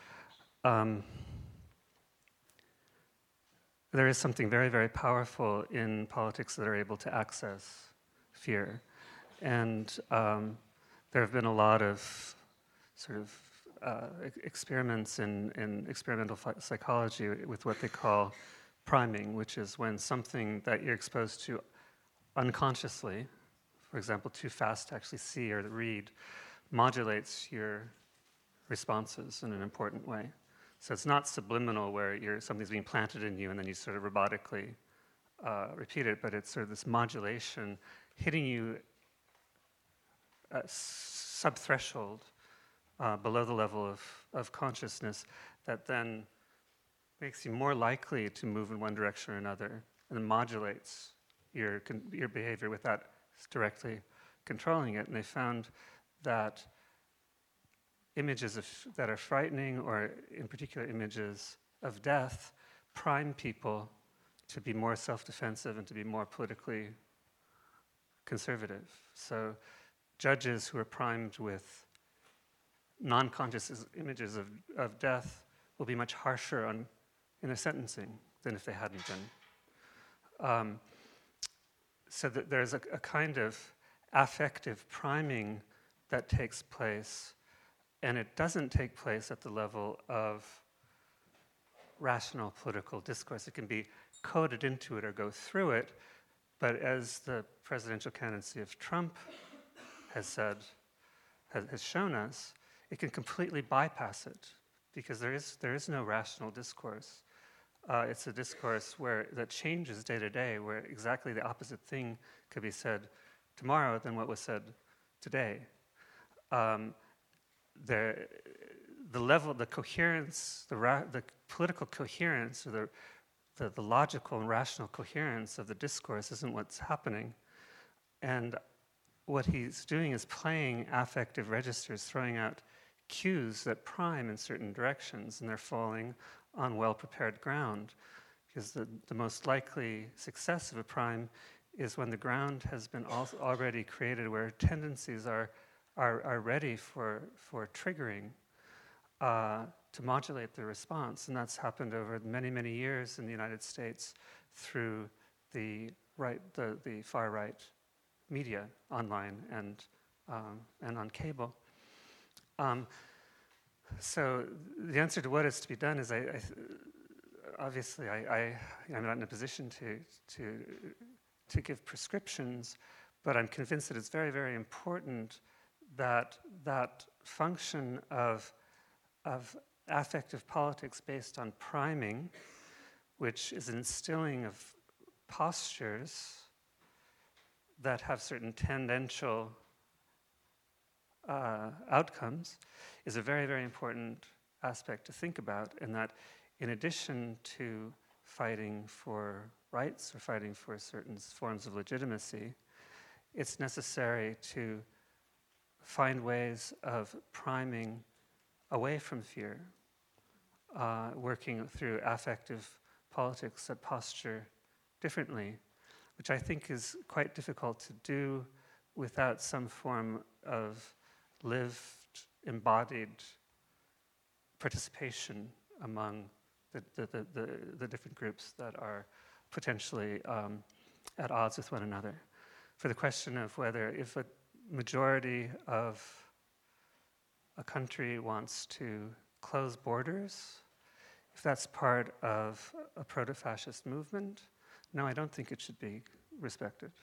there is something very, very powerful in politics that are able to access fear, and there have been a lot of sort of experiments in experimental psychology with what they call priming, which is when something that you're exposed to unconsciously, for example, too fast to actually see or read, modulates your responses in an important way. So it's not subliminal where something's being planted in you and then you sort of robotically repeat it, but it's sort of this modulation hitting you sub-threshold below the level of consciousness that then makes you more likely to move in one direction or another, and then modulates your behavior without directly controlling it. And they found that images that are frightening, or in particular images of death, prime people to be more self-defensive and to be more politically conservative. So judges who are primed with non-conscious images of death will be much harsher in their sentencing than if they hadn't been. So that there's a kind of affective priming that takes place, and it doesn't take place at the level of rational political discourse. It can be coded into it or go through it, but as the presidential candidacy of Trump has shown us, it can completely bypass it because there is no rational discourse. It's a discourse that changes day to day, where exactly the opposite thing could be said tomorrow than what was said today. The level, the coherence, the political coherence, or the logical and rational coherence of the discourse isn't what's happening. And what he's doing is playing affective registers, throwing out cues that prime in certain directions, and they're falling on well-prepared ground. Because the most likely success of a prime is when the ground has been already created, where tendencies are ready for triggering to modulate the response. And that's happened over many, many years in the United States through the far right media, online and on cable. So the answer to what is to be done is, obviously, I'm not in a position to give prescriptions, but I'm convinced that it's very, very important that that function of affective politics based on priming, which is an instilling of postures that have certain tendential outcomes, is a very, very important aspect to think about, and that in addition to fighting for rights or fighting for certain forms of legitimacy, it's necessary to find ways of priming away from fear, working through affective politics that posture differently, which I think is quite difficult to do without some form of lived, embodied participation among the different groups that are potentially at odds with one another. For the question of whether if a majority of a country wants to close borders, if that's part of a proto-fascist movement, no, I don't think it should be respected.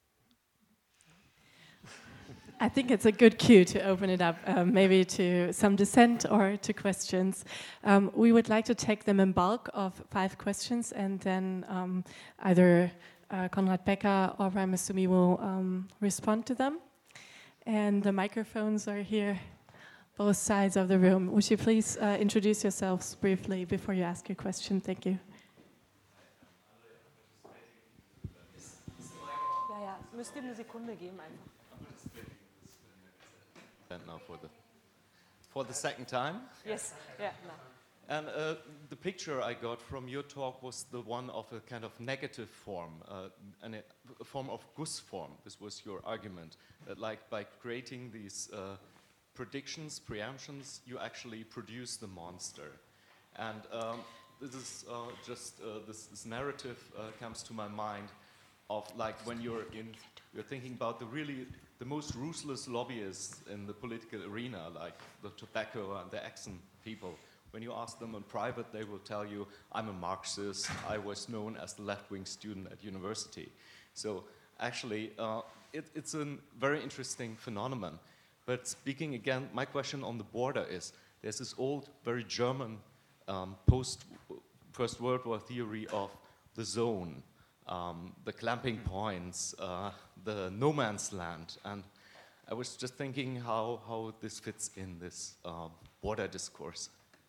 I think it's a good cue to open it up, maybe to some dissent or to questions. We would like to take them in bulk of 5 questions, and then either Konrad Becker or Brian Massumi will respond to them. And the microphones are here, both sides of the room. Would you please introduce yourselves briefly before you ask your question? Thank you. Ja, müsst ihr eine Sekunde geben einfach. And now for the second time. Yes, yeah, no. And the picture I got from your talk was the one of a kind of negative form, and a form of Gus form. This was your argument, that like by creating these predictions, preemptions, you actually produce the monster. And this is this narrative comes to my mind of like when you're thinking about the most ruthless lobbyists in the political arena, like the tobacco and the Exxon people. When you ask them in private, they will tell you, I'm a Marxist, I was known as the left-wing student at university. So actually, it's a very interesting phenomenon. But speaking again, my question on the border is, there's this old, very German post-First World War theory of the zone, the clamping points, the no man's land. And I was just thinking how this fits in this border discourse.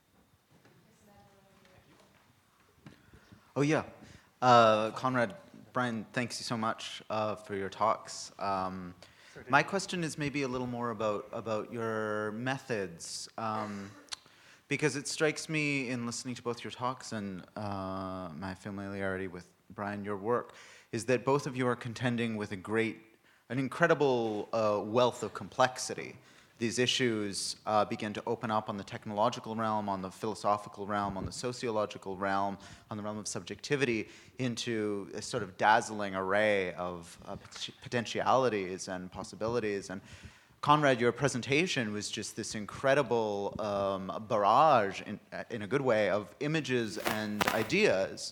Oh yeah, Konrad, Brian, thanks you so much for your talks. My question is maybe a little more about your methods, because it strikes me in listening to both your talks and my familiarity with Brian, your work, is that both of you are contending with an incredible wealth of complexity. These issues begin to open up on the technological realm, on the philosophical realm, on the sociological realm, on the realm of subjectivity, into a sort of dazzling array of potentialities and possibilities. And Konrad, your presentation was just this incredible barrage, in a good way, of images and ideas.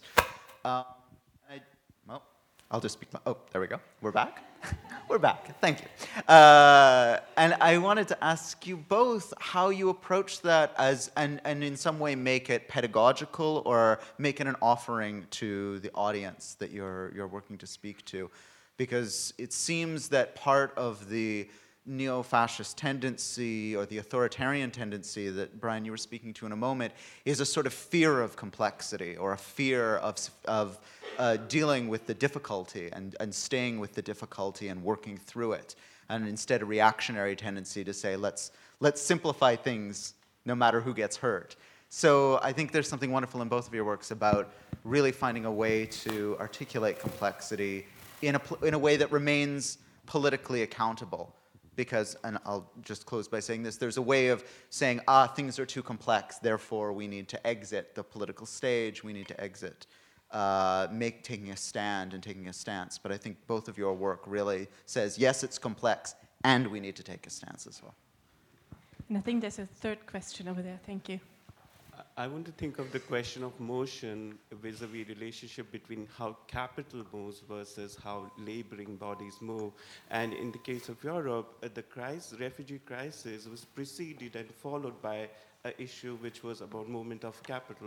I'll just speak. Oh, there we go. We're back. We're back. Thank you. And I wanted to ask you both how you approach that and in some way make it pedagogical or make it an offering to the audience that you're working to speak to, because it seems that part of the neo-fascist tendency or the authoritarian tendency that, Brian, you were speaking to in a moment, is a sort of fear of complexity or a fear of dealing with the difficulty and staying with the difficulty and working through it, and instead a reactionary tendency to say, let's simplify things no matter who gets hurt. So I think there's something wonderful in both of your works about really finding a way to articulate complexity in a way that remains politically accountable. Because, and I'll just close by saying this, there's a way of saying, things are too complex, therefore we need to exit the political stage, we need to exit taking a stand and taking a stance. But I think both of your work really says, yes, it's complex, and we need to take a stance as well. And I think there's a third question over there. Thank you. I want to think of the question of motion vis-a-vis relationship between how capital moves versus how laboring bodies move. And in the case of Europe, the refugee crisis was preceded and followed by an issue which was about movement of capital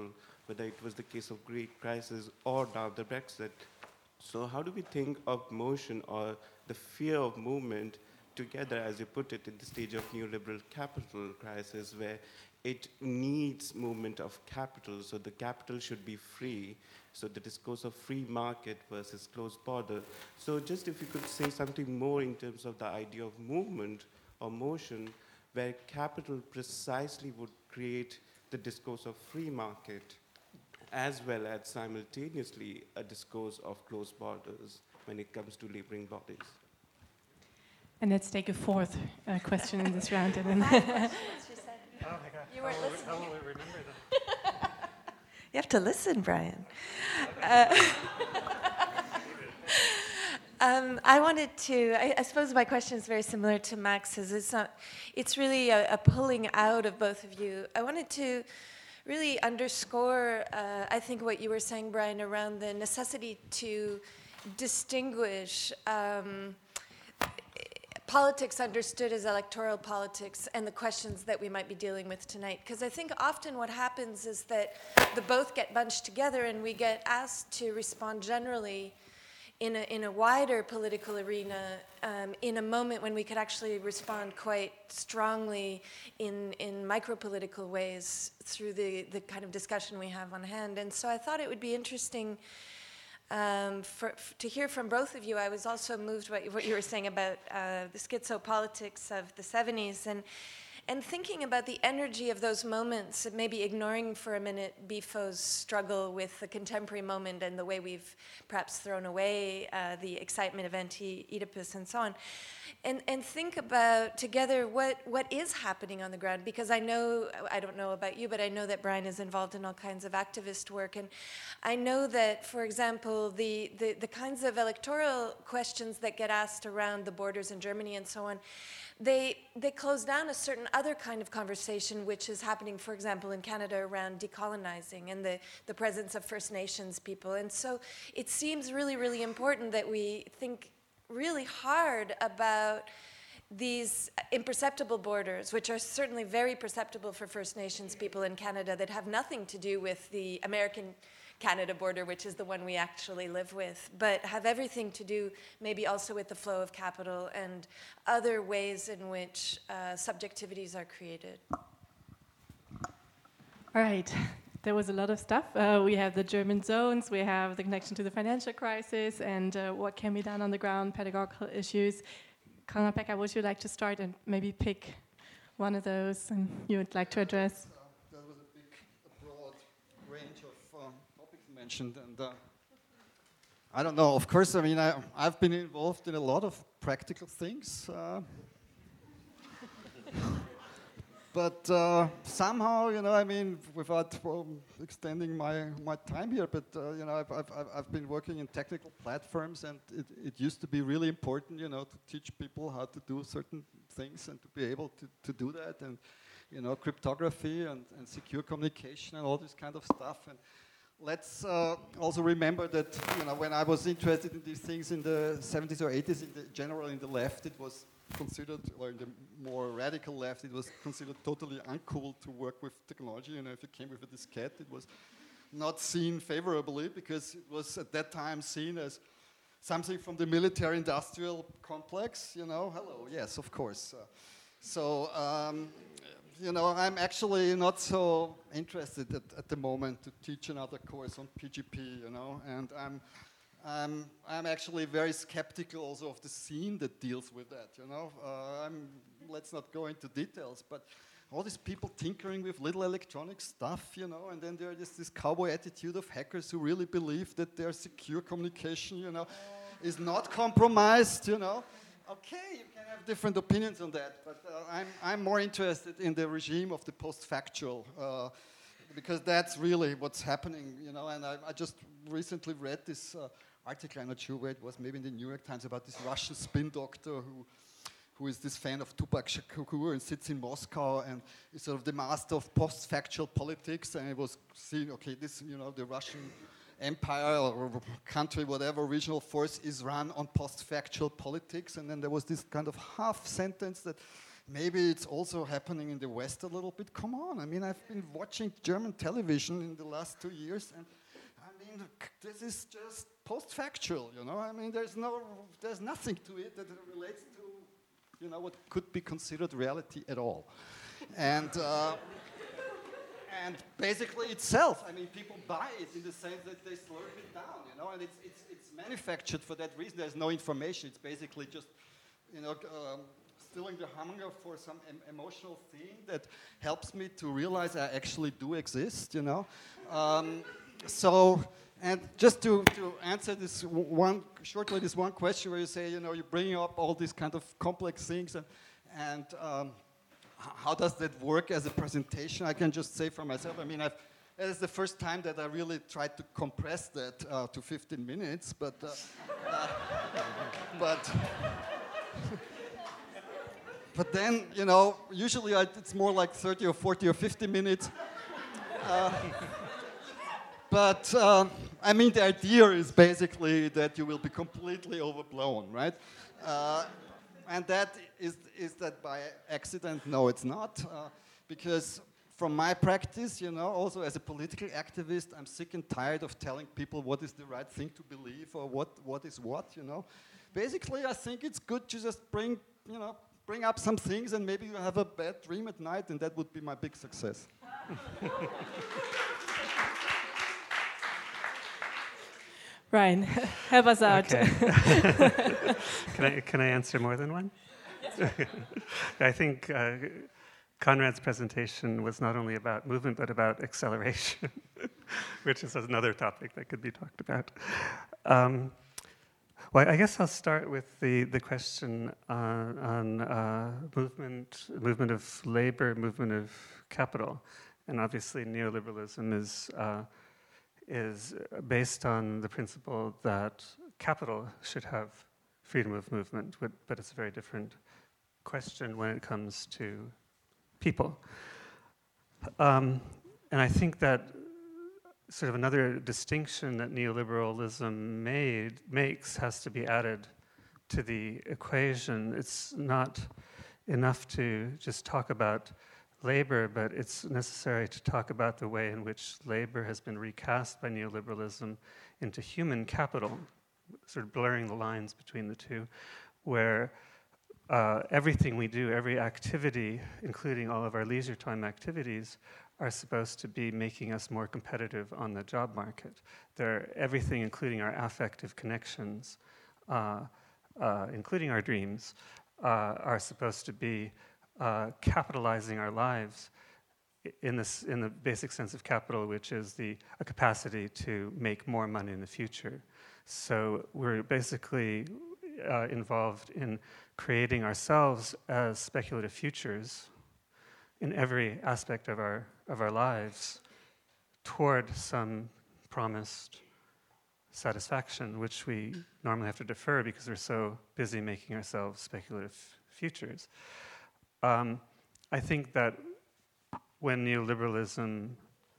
whether it was the case of Greek crisis or now the Brexit. So how do we think of motion or the fear of movement together, as you put it, in the stage of neoliberal capital crisis, where it needs movement of capital, so the capital should be free, so the discourse of free market versus closed border. So just if you could say something more in terms of the idea of movement or motion, where capital precisely would create the discourse of free market, as well as simultaneously a discourse of closed borders when it comes to laboring bodies. And let's take a fourth question in this round. And then Oh my God. You weren't listening. How will we remember them? You have to listen, Brian. I wanted to, I suppose my question is very similar to Max's. It's really a pulling out of both of you. I wanted to really underscore, I think, what you were saying, Brian, around the necessity to distinguish politics understood as electoral politics and the questions that we might be dealing with tonight. Because I think often what happens is that the both get bunched together and we get asked to respond generally in a wider political arena in a moment when we could actually respond quite strongly in micro-political ways through the kind of discussion we have on hand. And so I thought it would be interesting to hear from both of you. I was also moved by what you were saying about the schizopolitics of the 70s and thinking about the energy of those moments, maybe ignoring for a minute Bifo's struggle with the contemporary moment and the way we've perhaps thrown away the excitement of anti-Oedipus and so on. And think about together what is happening on the ground, because I don't know about you, but I know that Brian is involved in all kinds of activist work, and I know that, for example, the kinds of electoral questions that get asked around the borders in Germany and so on, they close down a certain other kind of conversation which is happening, for example, in Canada around decolonizing and the presence of First Nations people. And so it seems really, really important that we think really hard about these imperceptible borders, which are certainly very perceptible for First Nations people in Canada, that have nothing to do with the American Canada border, which is the one we actually live with, but have everything to do maybe also with the flow of capital and other ways in which subjectivities are created. all right, there was a lot of stuff. We have the German zones, we have the connection to the financial crisis, and what can be done on the ground, pedagogical issues. Konrad-Pekka, would you like to start and maybe pick one of those and you would like to address? There was a broad range of topics mentioned, and I don't know. Of course, I mean, I've been involved in a lot of practical things, but somehow, you know, I mean, without extending my time here, but you know, I've been working in technical platforms, and it used to be really important, you know, to teach people how to do certain things and to be able to do that, and you know, cryptography and secure communication and all this kind of stuff. And let's also remember that, you know, when I was interested in these things in the 70s or 80s, generally in the left, it was considered, or in the more radical left, it was considered totally uncool to work with technology. You know, if you came with a diskette, it was not seen favorably because it was at that time seen as something from the military-industrial complex. You know, hello, yes, of course. You know, I'm actually not so interested at the moment to teach another course on PGP, you know, and I'm actually very skeptical also of the scene that deals with that, you know. Let's not go into details, but all these people tinkering with little electronic stuff, you know, and then there is this cowboy attitude of hackers who really believe that their secure communication, you know, is not compromised, you know. Okay, you can have different opinions on that, but I'm more interested in the regime of the post-factual, because that's really what's happening, you know. And I just recently read this article, I'm not sure where it was, maybe in the New York Times, about this Russian spin doctor who is this fan of Tupac Shakur and sits in Moscow and is sort of the master of post-factual politics, and it was seeing, okay, this, you know, the Russian empire or country, whatever, regional force is run on post-factual politics. And then there was this kind of half sentence that maybe it's also happening in the West a little bit. Come on, I mean, I've been watching German television in the last 2 years, and I mean, this is just post-factual, you know. I mean, there's nothing to it that relates to, you know, what could be considered reality at all, and basically itself. I mean, people buy it in the sense that they slurp it down, you know, and it's manufactured for that reason. There's no information. It's basically just, you know, stilling the hunger for some emotional thing that helps me to realize I actually do exist, you know. So, and just to answer this one question where you say, you know, you're bringing up all these kind of complex things, and how does that work as a presentation? I can just say for myself, I mean, it is the first time that I really tried to compress that to 15 minutes, but then, you know, usually it's more like 30 or 40 or 50 minutes. But I mean, the idea is basically that you will be completely overblown, right? And that is that by accident? No, it's not, because from my practice, you know, also as a political activist, I'm sick and tired of telling people what is the right thing to believe or what is what, you know. Basically, I think it's good to just bring up some things, and maybe you have a bad dream at night, and that would be my big success. Ryan, help us out. Okay. Can I answer more than one? Yes. I think Konrad's presentation was not only about movement, but about acceleration, which is another topic that could be talked about. Well, I guess I'll start with the question on movement of labor, movement of capital, and obviously neoliberalism is based on the principle that capital should have freedom of movement, but it's a very different question when it comes to people. And I think that sort of another distinction that neoliberalism makes has to be added to the equation. It's not enough to just talk about labor, but it's necessary to talk about the way in which labor has been recast by neoliberalism into human capital, sort of blurring the lines between the two, where everything we do, every activity, including all of our leisure time activities, are supposed to be making us more competitive on the job market. Everything, including our affective connections, including our dreams, are supposed to be capitalizing our lives in the basic sense of capital, which is a capacity to make more money in the future. So we're basically involved in creating ourselves as speculative futures in every aspect of our lives toward some promised satisfaction, which we normally have to defer because we're so busy making ourselves speculative futures. I think that when neoliberalism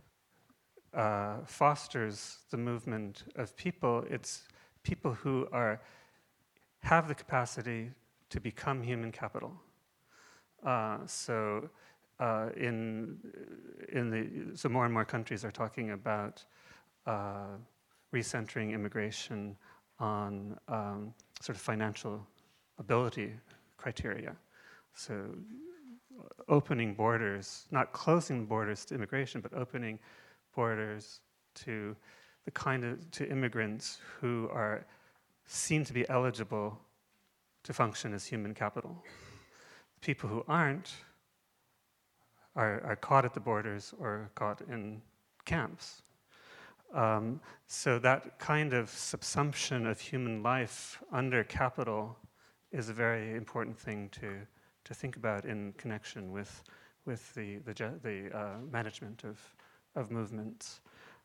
fosters the movement of people, it's people who have the capacity to become human capital. So more and more countries are talking about recentering immigration on sort of financial ability criteria. So opening borders, not closing borders to immigration, but opening borders to to immigrants who are seen to be eligible to function as human capital. People who aren't are caught at the borders or caught in camps. So that kind of subsumption of human life under capital is a very important thing to think about in connection with the management of movements.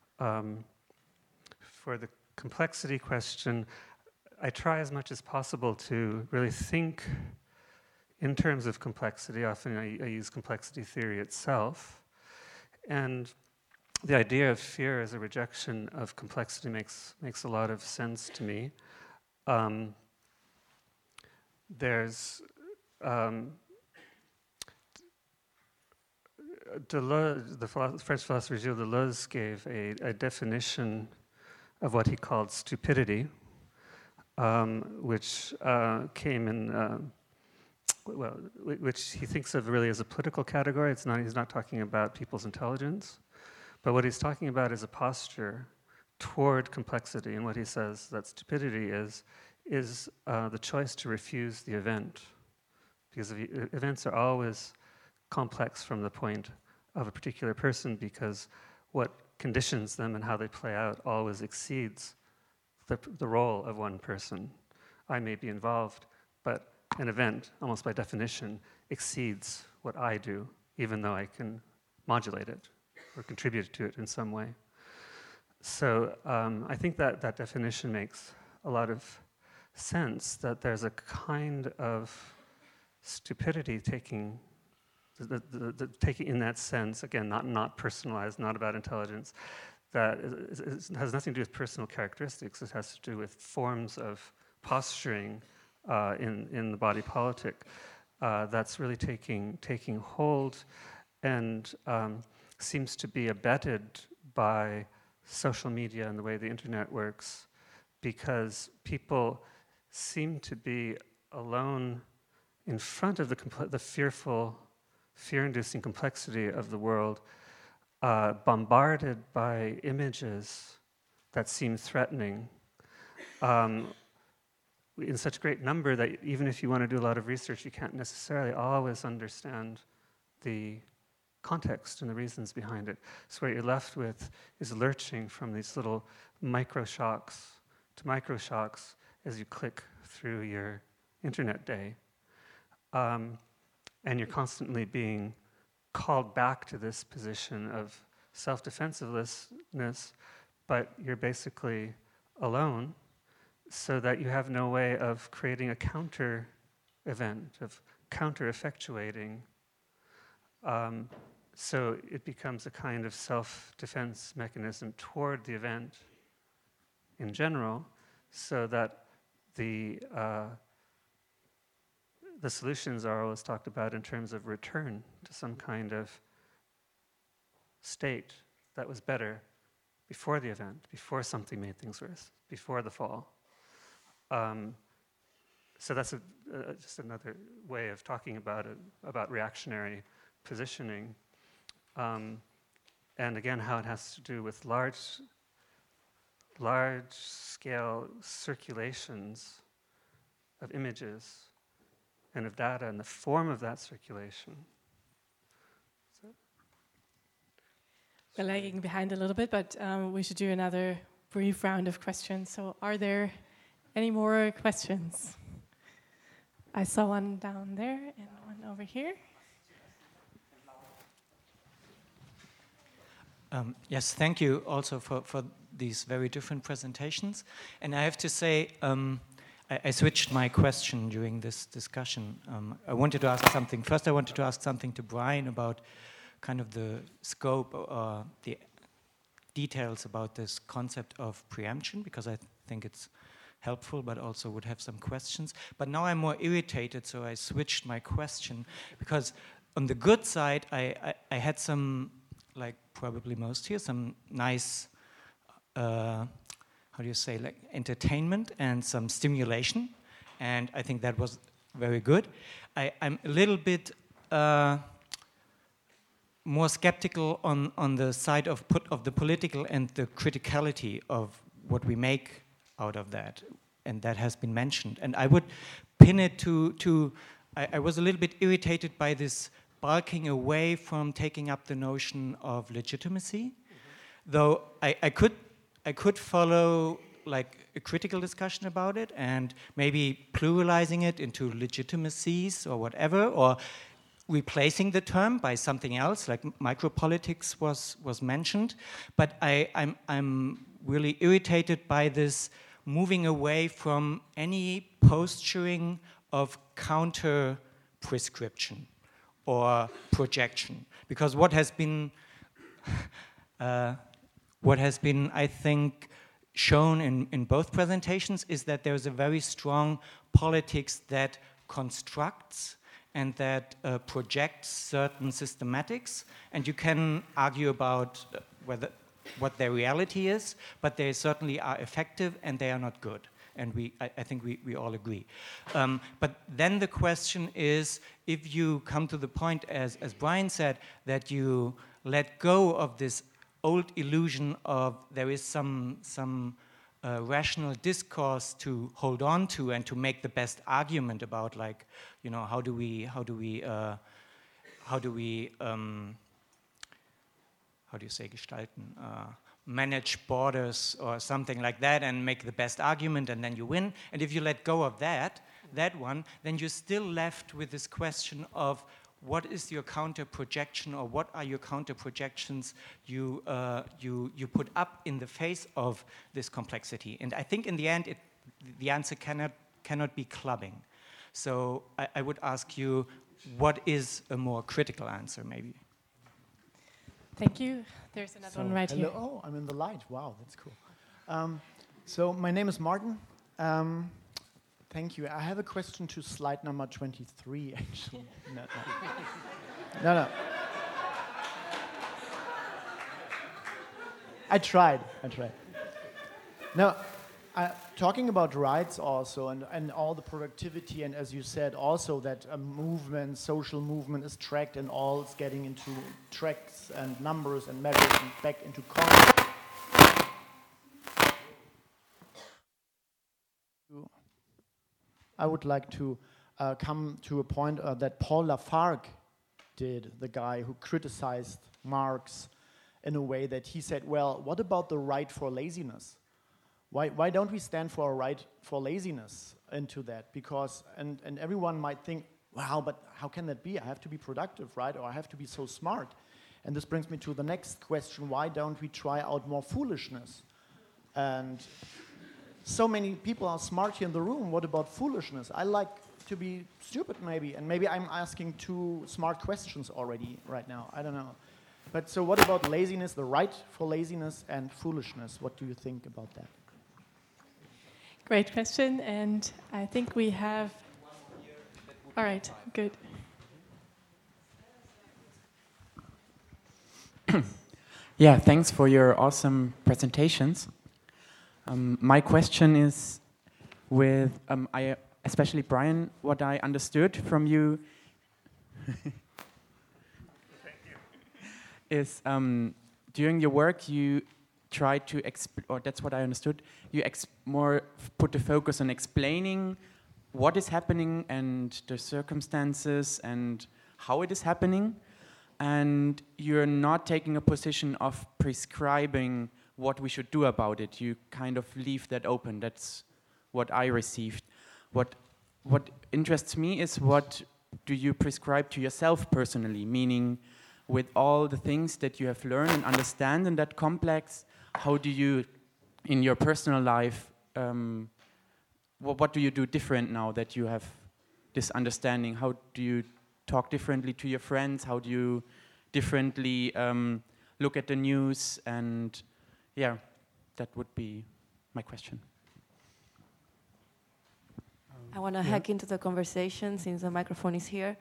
For the complexity question, I try as much as possible to really think in terms of complexity. Often I use complexity theory itself. And the idea of fear as a rejection of complexity makes a lot of sense to me. There's Deleuze, the French philosopher Gilles Deleuze gave a definition of what he called stupidity, which came in, which he thinks of really as a political category. He's not talking about people's intelligence, but what he's talking about is a posture toward complexity. And what he says that stupidity is the choice to refuse the event, because events are always complex from the point of a particular person, because what conditions them and how they play out always exceeds the role of one person. I may be involved, but an event, almost by definition, exceeds what I do, even though I can modulate it or contribute to it in some way. So I think that definition makes a lot of sense, that there's a kind of stupidity taking in that sense, again, not personalized, not about intelligence, that has nothing to do with personal characteristics. It has to do with forms of posturing in the body politic that's really taking hold and seems to be abetted by social media and the way the internet works, because people seem to be alone in front of the fear-inducing complexity of the world, bombarded by images that seem threatening in such great number that even if you want to do a lot of research, you can't necessarily always understand the context and the reasons behind it. So what you're left with is lurching from these little micro-shocks to micro-shocks as you click through your internet day. And you're constantly being called back to this position of self-defensiveness, but you're basically alone, so that you have no way of creating a counter event, of counter-effectuating. So it becomes a kind of self-defense mechanism toward the event in general, so that the solutions are always talked about in terms of return to some kind of state that was better before the event, before something made things worse, before the fall. So that's just another way of talking about it, about reactionary positioning. And again, how it has to do with large-scale circulations of images and of data and the form of that circulation. We're lagging behind a little bit, but we should do another brief round of questions. So are there any more questions? I saw one down there and one over here. Yes, thank you also for these very different presentations. And I have to say, I switched my question during this discussion. I wanted to ask something. First, I wanted to ask something to Brian about kind of the scope or the details about this concept of preemption, because I think it's helpful, but also would have some questions. But now I'm more irritated, so I switched my question, because on the good side, I had some, like probably most here, some nice, how do you say, like entertainment and some stimulation, and I think that was very good. I'm a little bit more skeptical on the side of the political and the criticality of what we make out of that, and that has been mentioned. And I would pin it to I was a little bit irritated by this bulking away from taking up the notion of legitimacy, though I could follow like a critical discussion about it and maybe pluralizing it into legitimacies or whatever, or replacing the term by something else, like micropolitics was mentioned. But I'm really irritated by this moving away from any posturing of counter prescription or projection, because what has been I think shown in both presentations is that there's a very strong politics that constructs and that projects certain systematics, and you can argue about what their reality is, but they certainly are effective and they are not good. And I think we all agree. But then the question is, if you come to the point, as Brian said, that you let go of this old illusion of there is some rational discourse to hold on to and to make the best argument about, like, you know, how do you say gestalten, manage borders or something like that and make the best argument and then you win. And if you let go of that one, then you're still left with this question of what is your counter projection, or what are your counter projections you put up in the face of this complexity. And I think in the end, the answer cannot be clubbing. So I would ask you, what is a more critical answer, maybe? Thank you. There's another one right here. Oh, I'm in the light. Wow, that's cool. So my name is Martin. Thank you. I have a question to slide number 23, actually. No. I tried. No, talking about rights also, and all the productivity, and as you said also that a movement, social movement is tracked and all is getting into tracks and numbers and measures and back into costs. I would like to come to a point that Paul Lafargue did, the guy who criticized Marx in a way that he said, well, what about the right for laziness? Why don't we stand for a right for laziness into that? Because, and everyone might think, wow, but how can that be? I have to be productive, right? Or I have to be so smart. And this brings me to the next question. Why don't we try out more foolishness? And so many people are smart here in the room. What about foolishness? I like to be stupid, maybe. And maybe I'm asking too smart questions already right now. I don't know. But so what about laziness, the right for laziness and foolishness? What do you think about that? Great question. And I think we have... All right, good. Yeah, thanks for your awesome presentations. My question is with, especially Brian, what I understood from you is during your work you try to, or that's what I understood, you more put the focus on explaining what is happening and the circumstances and how it is happening, and you're not taking a position of prescribing what we should do about it. You kind of leave that open. That's what I received. What interests me is, what do you prescribe to yourself personally? Meaning, with all the things that you have learned and understand in that complex, how do you, in your personal life, what do you do different now that you have this understanding? How do you talk differently to your friends? How do you differently look at the news? And yeah, that would be my question. I want to hack into the conversation since the microphone is here.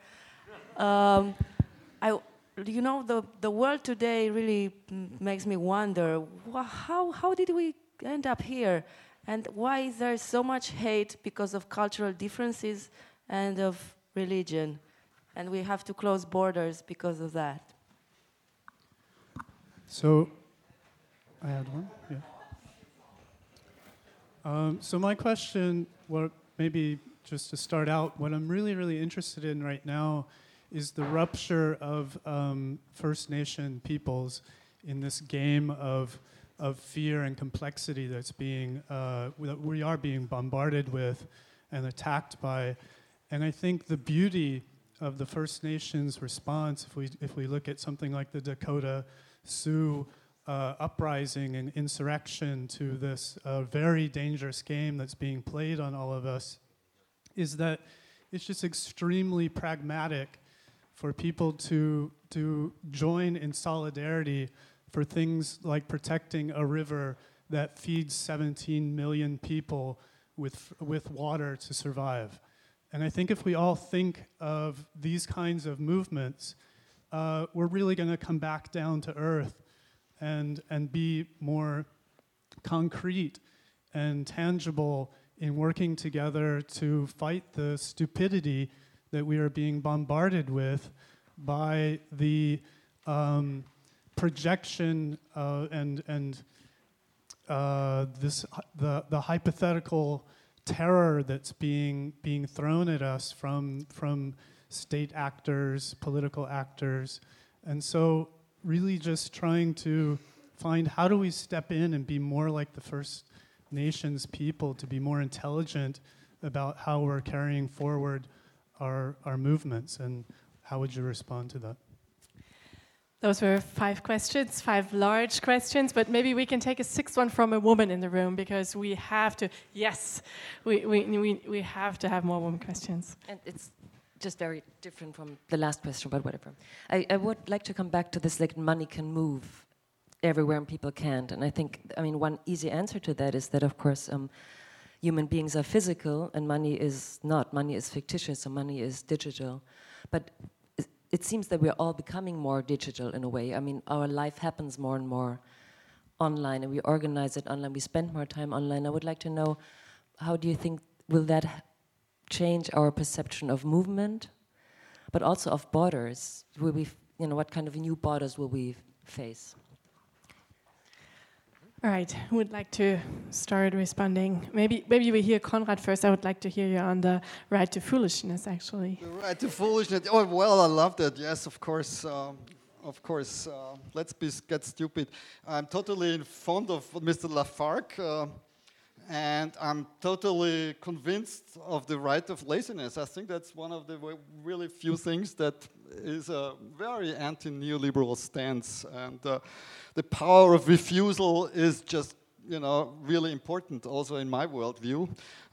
You know, the world today really makes me wonder, how did we end up here? And why is there so much hate because of cultural differences and of religion? And we have to close borders because of that. So, I had one, yeah. So my question, maybe just to start out, what I'm really, really interested in right now is the rupture of First Nation peoples in this game of fear and complexity that's that we are being bombarded with and attacked by. And I think the beauty of the First Nations response, if we look at something like the Dakota Sioux uprising and insurrection to this very dangerous game that's being played on all of us, is that it's just extremely pragmatic for people to join in solidarity for things like protecting a river that feeds 17 million people with water to survive. And I think if we all think of these kinds of movements, we're really going to come back down to earth and be more concrete and tangible in working together to fight the stupidity that we are being bombarded with by the projection and the hypothetical terror that's being thrown at us from state actors, political actors. And so really just trying to find how do we step in and be more like the First Nations people, to be more intelligent about how we're carrying forward our movements, and how would you respond to that? Those were 5 questions, 5 large questions, but maybe we can take a 6th one from a woman in the room, because we have to, yes, we have to have more women questions. And it's just very different from the last question, but whatever. I would like to come back to this, like, money can move everywhere and people can't. And I think, I mean, one easy answer to that is that, of course, human beings are physical and money is not. Money is fictitious, so money is digital. But it seems that we're all becoming more digital in a way. I mean, our life happens more and more online, and we organize it online. We spend more time online. I would like to know, how do you think, will that change our perception of movement, but also of borders? Will we, what kind of new borders will we face? All right, who would like to start responding? Maybe we hear Konrad first. I would like to hear you on the right to foolishness, actually. The right to foolishness. Oh, well, I love that. Yes, of course. Let's get stupid. I'm totally fond of Mr. Lafargue, and I'm totally convinced of the right of laziness. I think that's one of the really few things that is a very anti-neoliberal stance, and the power of refusal is just, really important also in my worldview.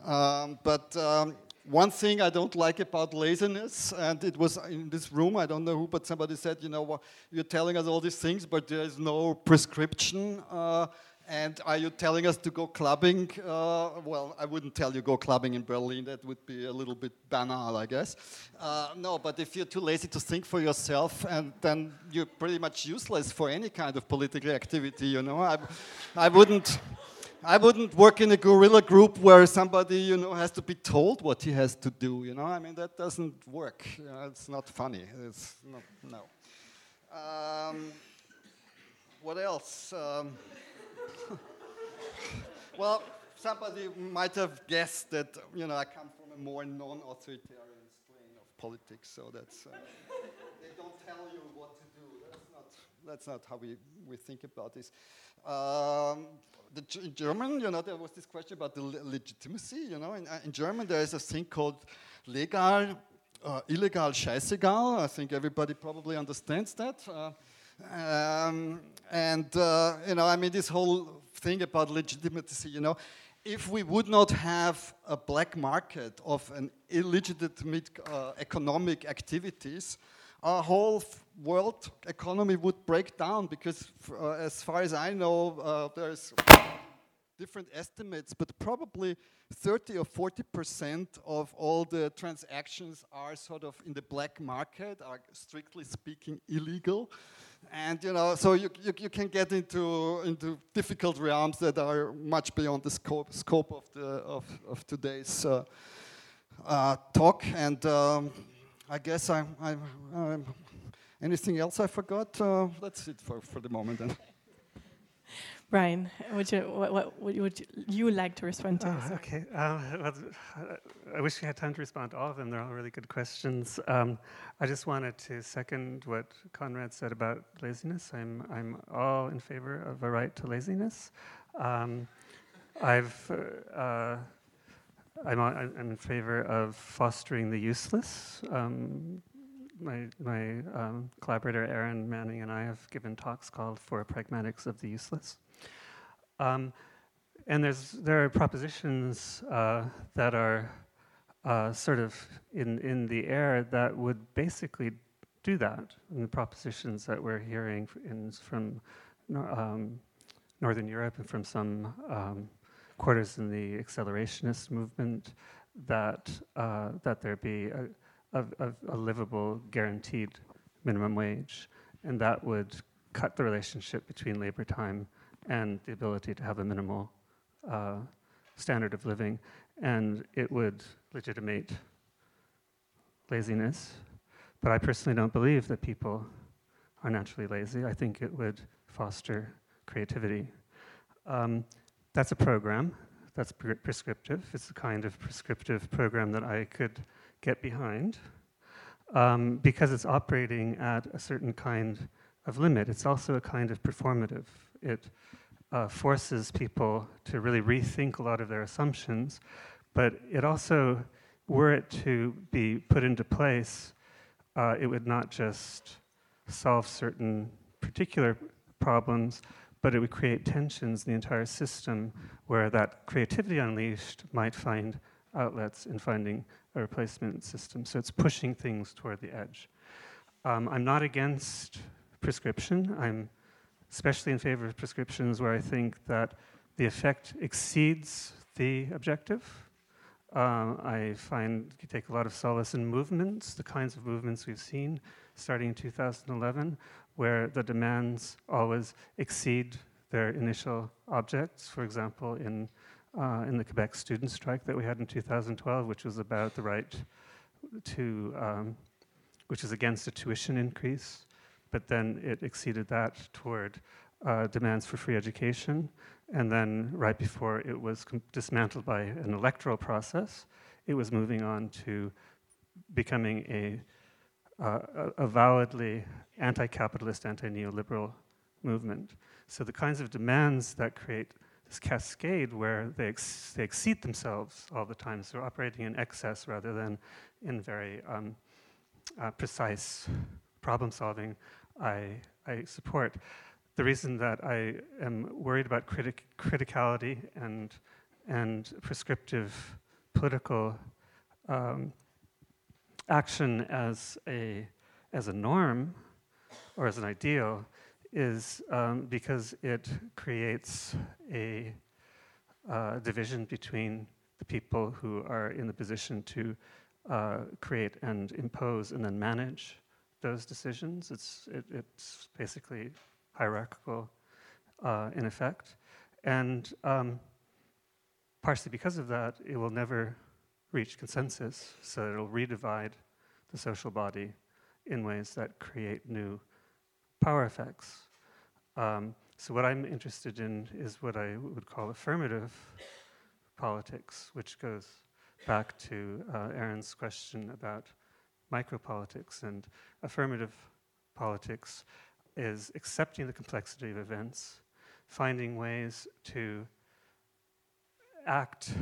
One thing I don't like about laziness, and it was in this room, I don't know who, but somebody said, you're telling us all these things, but there is no prescription. And are you telling us to go clubbing? Well, I wouldn't tell you go clubbing in Berlin. That would be a little bit banal, I guess. No, but if you're too lazy to think for yourself, and then you're pretty much useless for any kind of political activity, I wouldn't work in a guerrilla group where somebody, has to be told what he has to do, I mean, that doesn't work. It's not funny. It's not, no. What else? Well, somebody might have guessed that, I come from a more non-authoritarian strain of politics, so that's, they don't tell you what to do. That's not how we think about this. In German, there was this question about the legitimacy, in German there is a thing called legal, illegal, scheißegal. I think everybody probably understands that. I mean, this whole thing about legitimacy, if we would not have a black market of an illegitimate economic activities, our whole world economy would break down, because as far as I know, there's different estimates, but probably 30 or 40% of all the transactions are sort of in the black market, are strictly speaking illegal. And so you can get into difficult realms that are much beyond the scope of today's talk. And I guess I'm anything else I forgot? That's it for the moment then. Brian, what would you like to respond to? Oh, okay. I wish we had time to respond to all of them. They're all really good questions. I just wanted to second what Konrad said about laziness. I'm all in favor of a right to laziness. I'm in favor of fostering the useless. My collaborator Aaron Manning and I have given talks called For Pragmatics of the Useless. And there are propositions that are sort of in the air that would basically do that. And the propositions that we're hearing from Northern Europe and from some quarters in the accelerationist movement, that that there be a livable, guaranteed minimum wage, and that would cut the relationship between labor time and the ability to have a minimal standard of living, and it would legitimate laziness. But I personally don't believe that people are naturally lazy. I think it would foster creativity. That's a program. That's prescriptive. It's the kind of prescriptive program that I could get behind because it's operating at a certain kind of limit. It's also a kind of performative. It forces people to really rethink a lot of their assumptions, but it also, were it to be put into place, it would not just solve certain particular problems, but it would create tensions in the entire system where that creativity unleashed might find outlets in finding a replacement system. So it's pushing things toward the edge. I'm not against prescription. I'm especially in favor of prescriptions where I think that the effect exceeds the objective. I find you take a lot of solace in movements, the kinds of movements we've seen starting in 2011, where the demands always exceed their initial objects. For example, in the Quebec student strike that we had in 2012, which was about the right to, which is against a tuition increase, but then it exceeded that toward demands for free education. And then right before it was dismantled by an electoral process, it was moving on to becoming a validly anti-capitalist, anti-neoliberal movement. So the kinds of demands that create this cascade where they exceed themselves all the time, so operating in excess rather than in very precise problem solving, I support. The reason that I am worried about criticality and prescriptive political action as a norm or as an ideal is because it creates a division between the people who are in the position to create and impose and then manage those decisions. It's basically hierarchical in effect. And partially because of that, it will never reach consensus, so it'll redivide the social body in ways that create new power effects. So what I'm interested in is what I would call affirmative politics, which goes back to Aaron's question about micropolitics. And affirmative politics is accepting the complexity of events, finding ways to act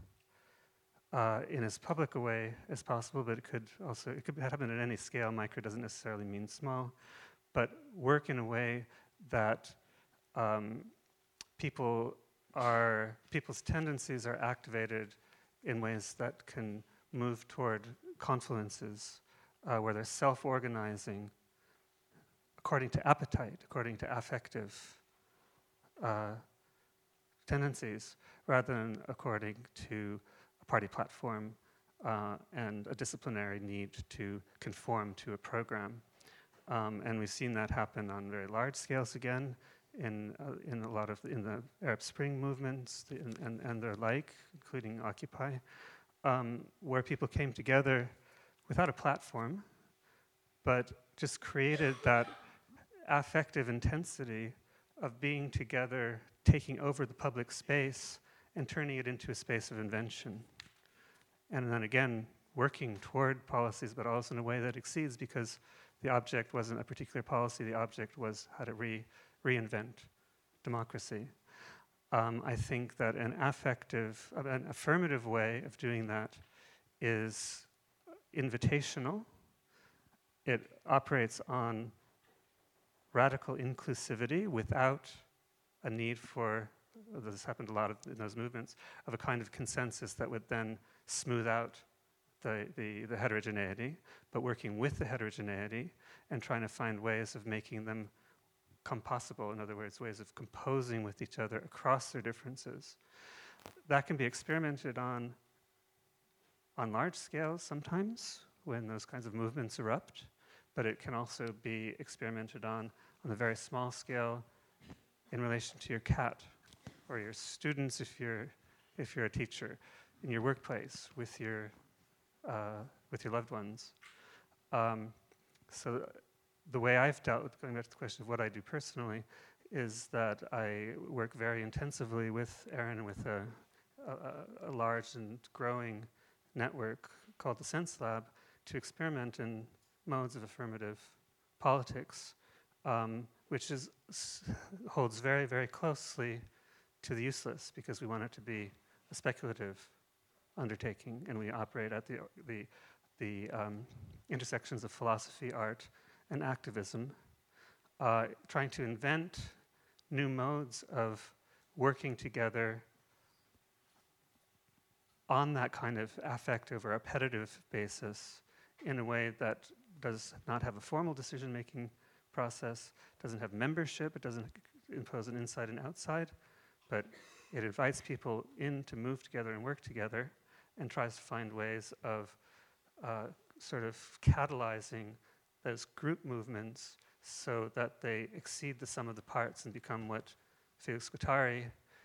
in as public a way as possible, but it could happen at any scale. Micro doesn't necessarily mean small, but work in a way that people's tendencies are activated in ways that can move toward confluences where they're self-organizing according to appetite, according to affective tendencies, rather than according to a party platform and a disciplinary need to conform to a program. And we've seen that happen on very large scales again in a lot of the Arab Spring movements and their like, including Occupy, where people came together without a platform, but just created that affective intensity of being together, taking over the public space and turning it into a space of invention. And then again, working toward policies, but also in a way that exceeds, because the object wasn't a particular policy, the object was how to reinvent democracy. I think that an affirmative way of doing that is invitational. It operates on radical inclusivity without a need for, this happened a lot in those movements, of a kind of consensus that would then smooth out the heterogeneity, but working with the heterogeneity and trying to find ways of making them compossible, in other words, ways of composing with each other across their differences. That can be experimented on on large scales sometimes when those kinds of movements erupt, but it can also be experimented on a very small scale in relation to your cat or your students if you're a teacher, in your workplace with your loved ones. So the way I've dealt with, going back to the question of what I do personally, is that I work very intensively with Aaron with a large and growing network called the Sense Lab to experiment in modes of affirmative politics, which holds very, very closely to the useless, because we want it to be a speculative undertaking, and we operate at the intersections of philosophy, art, and activism, trying to invent new modes of working together on that kind of affective or appetitive basis in a way that does not have a formal decision-making process, doesn't have membership, it doesn't impose an inside and outside, but it invites people in to move together and work together and tries to find ways of sort of catalyzing those group movements so that they exceed the sum of the parts and become what Felix Guattari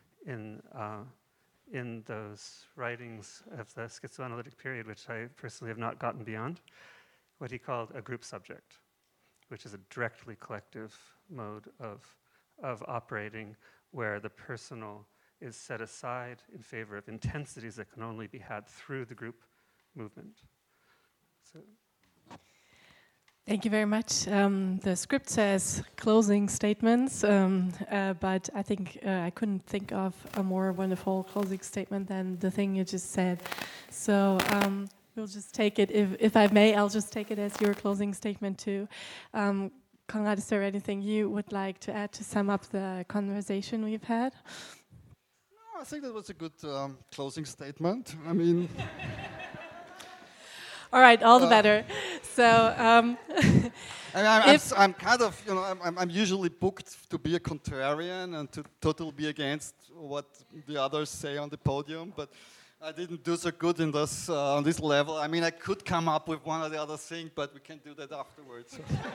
in those writings of the schizoanalytic period, which I personally have not gotten beyond, what he called a group subject, which is a directly collective mode of operating where the personal is set aside in favor of intensities that can only be had through the group movement. So. Thank you very much. The script says closing statements, but I think I couldn't think of a more wonderful closing statement than the thing you just said. So we'll just take it, if I may, I'll just take it as your closing statement too. Konrad, is there anything you would like to add to sum up the conversation we've had? No, I think that was a good closing statement. I mean... All right, all the better. So, I'm kind of, I'm usually booked to be a contrarian and to totally be against what the others say on the podium, but I didn't do so good in this on this level. I mean, I could come up with one or the other thing, but we can do that afterwards.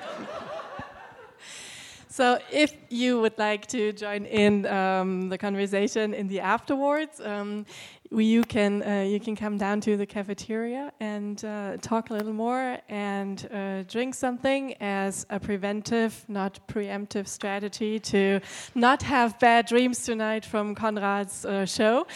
So if you would like to join in the conversation in the afterwards, you can come down to the cafeteria and talk a little more and drink something as a preventive, not preemptive strategy to not have bad dreams tonight from Konrad's show.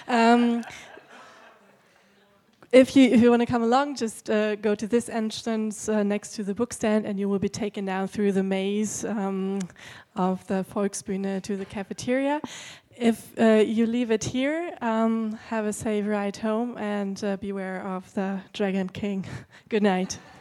If you want to come along, just go to this entrance next to the book stand, and you will be taken down through the maze of the Volksbühne to the cafeteria. If you leave it here, have a safe ride home, and beware of the Dragon King. Good night.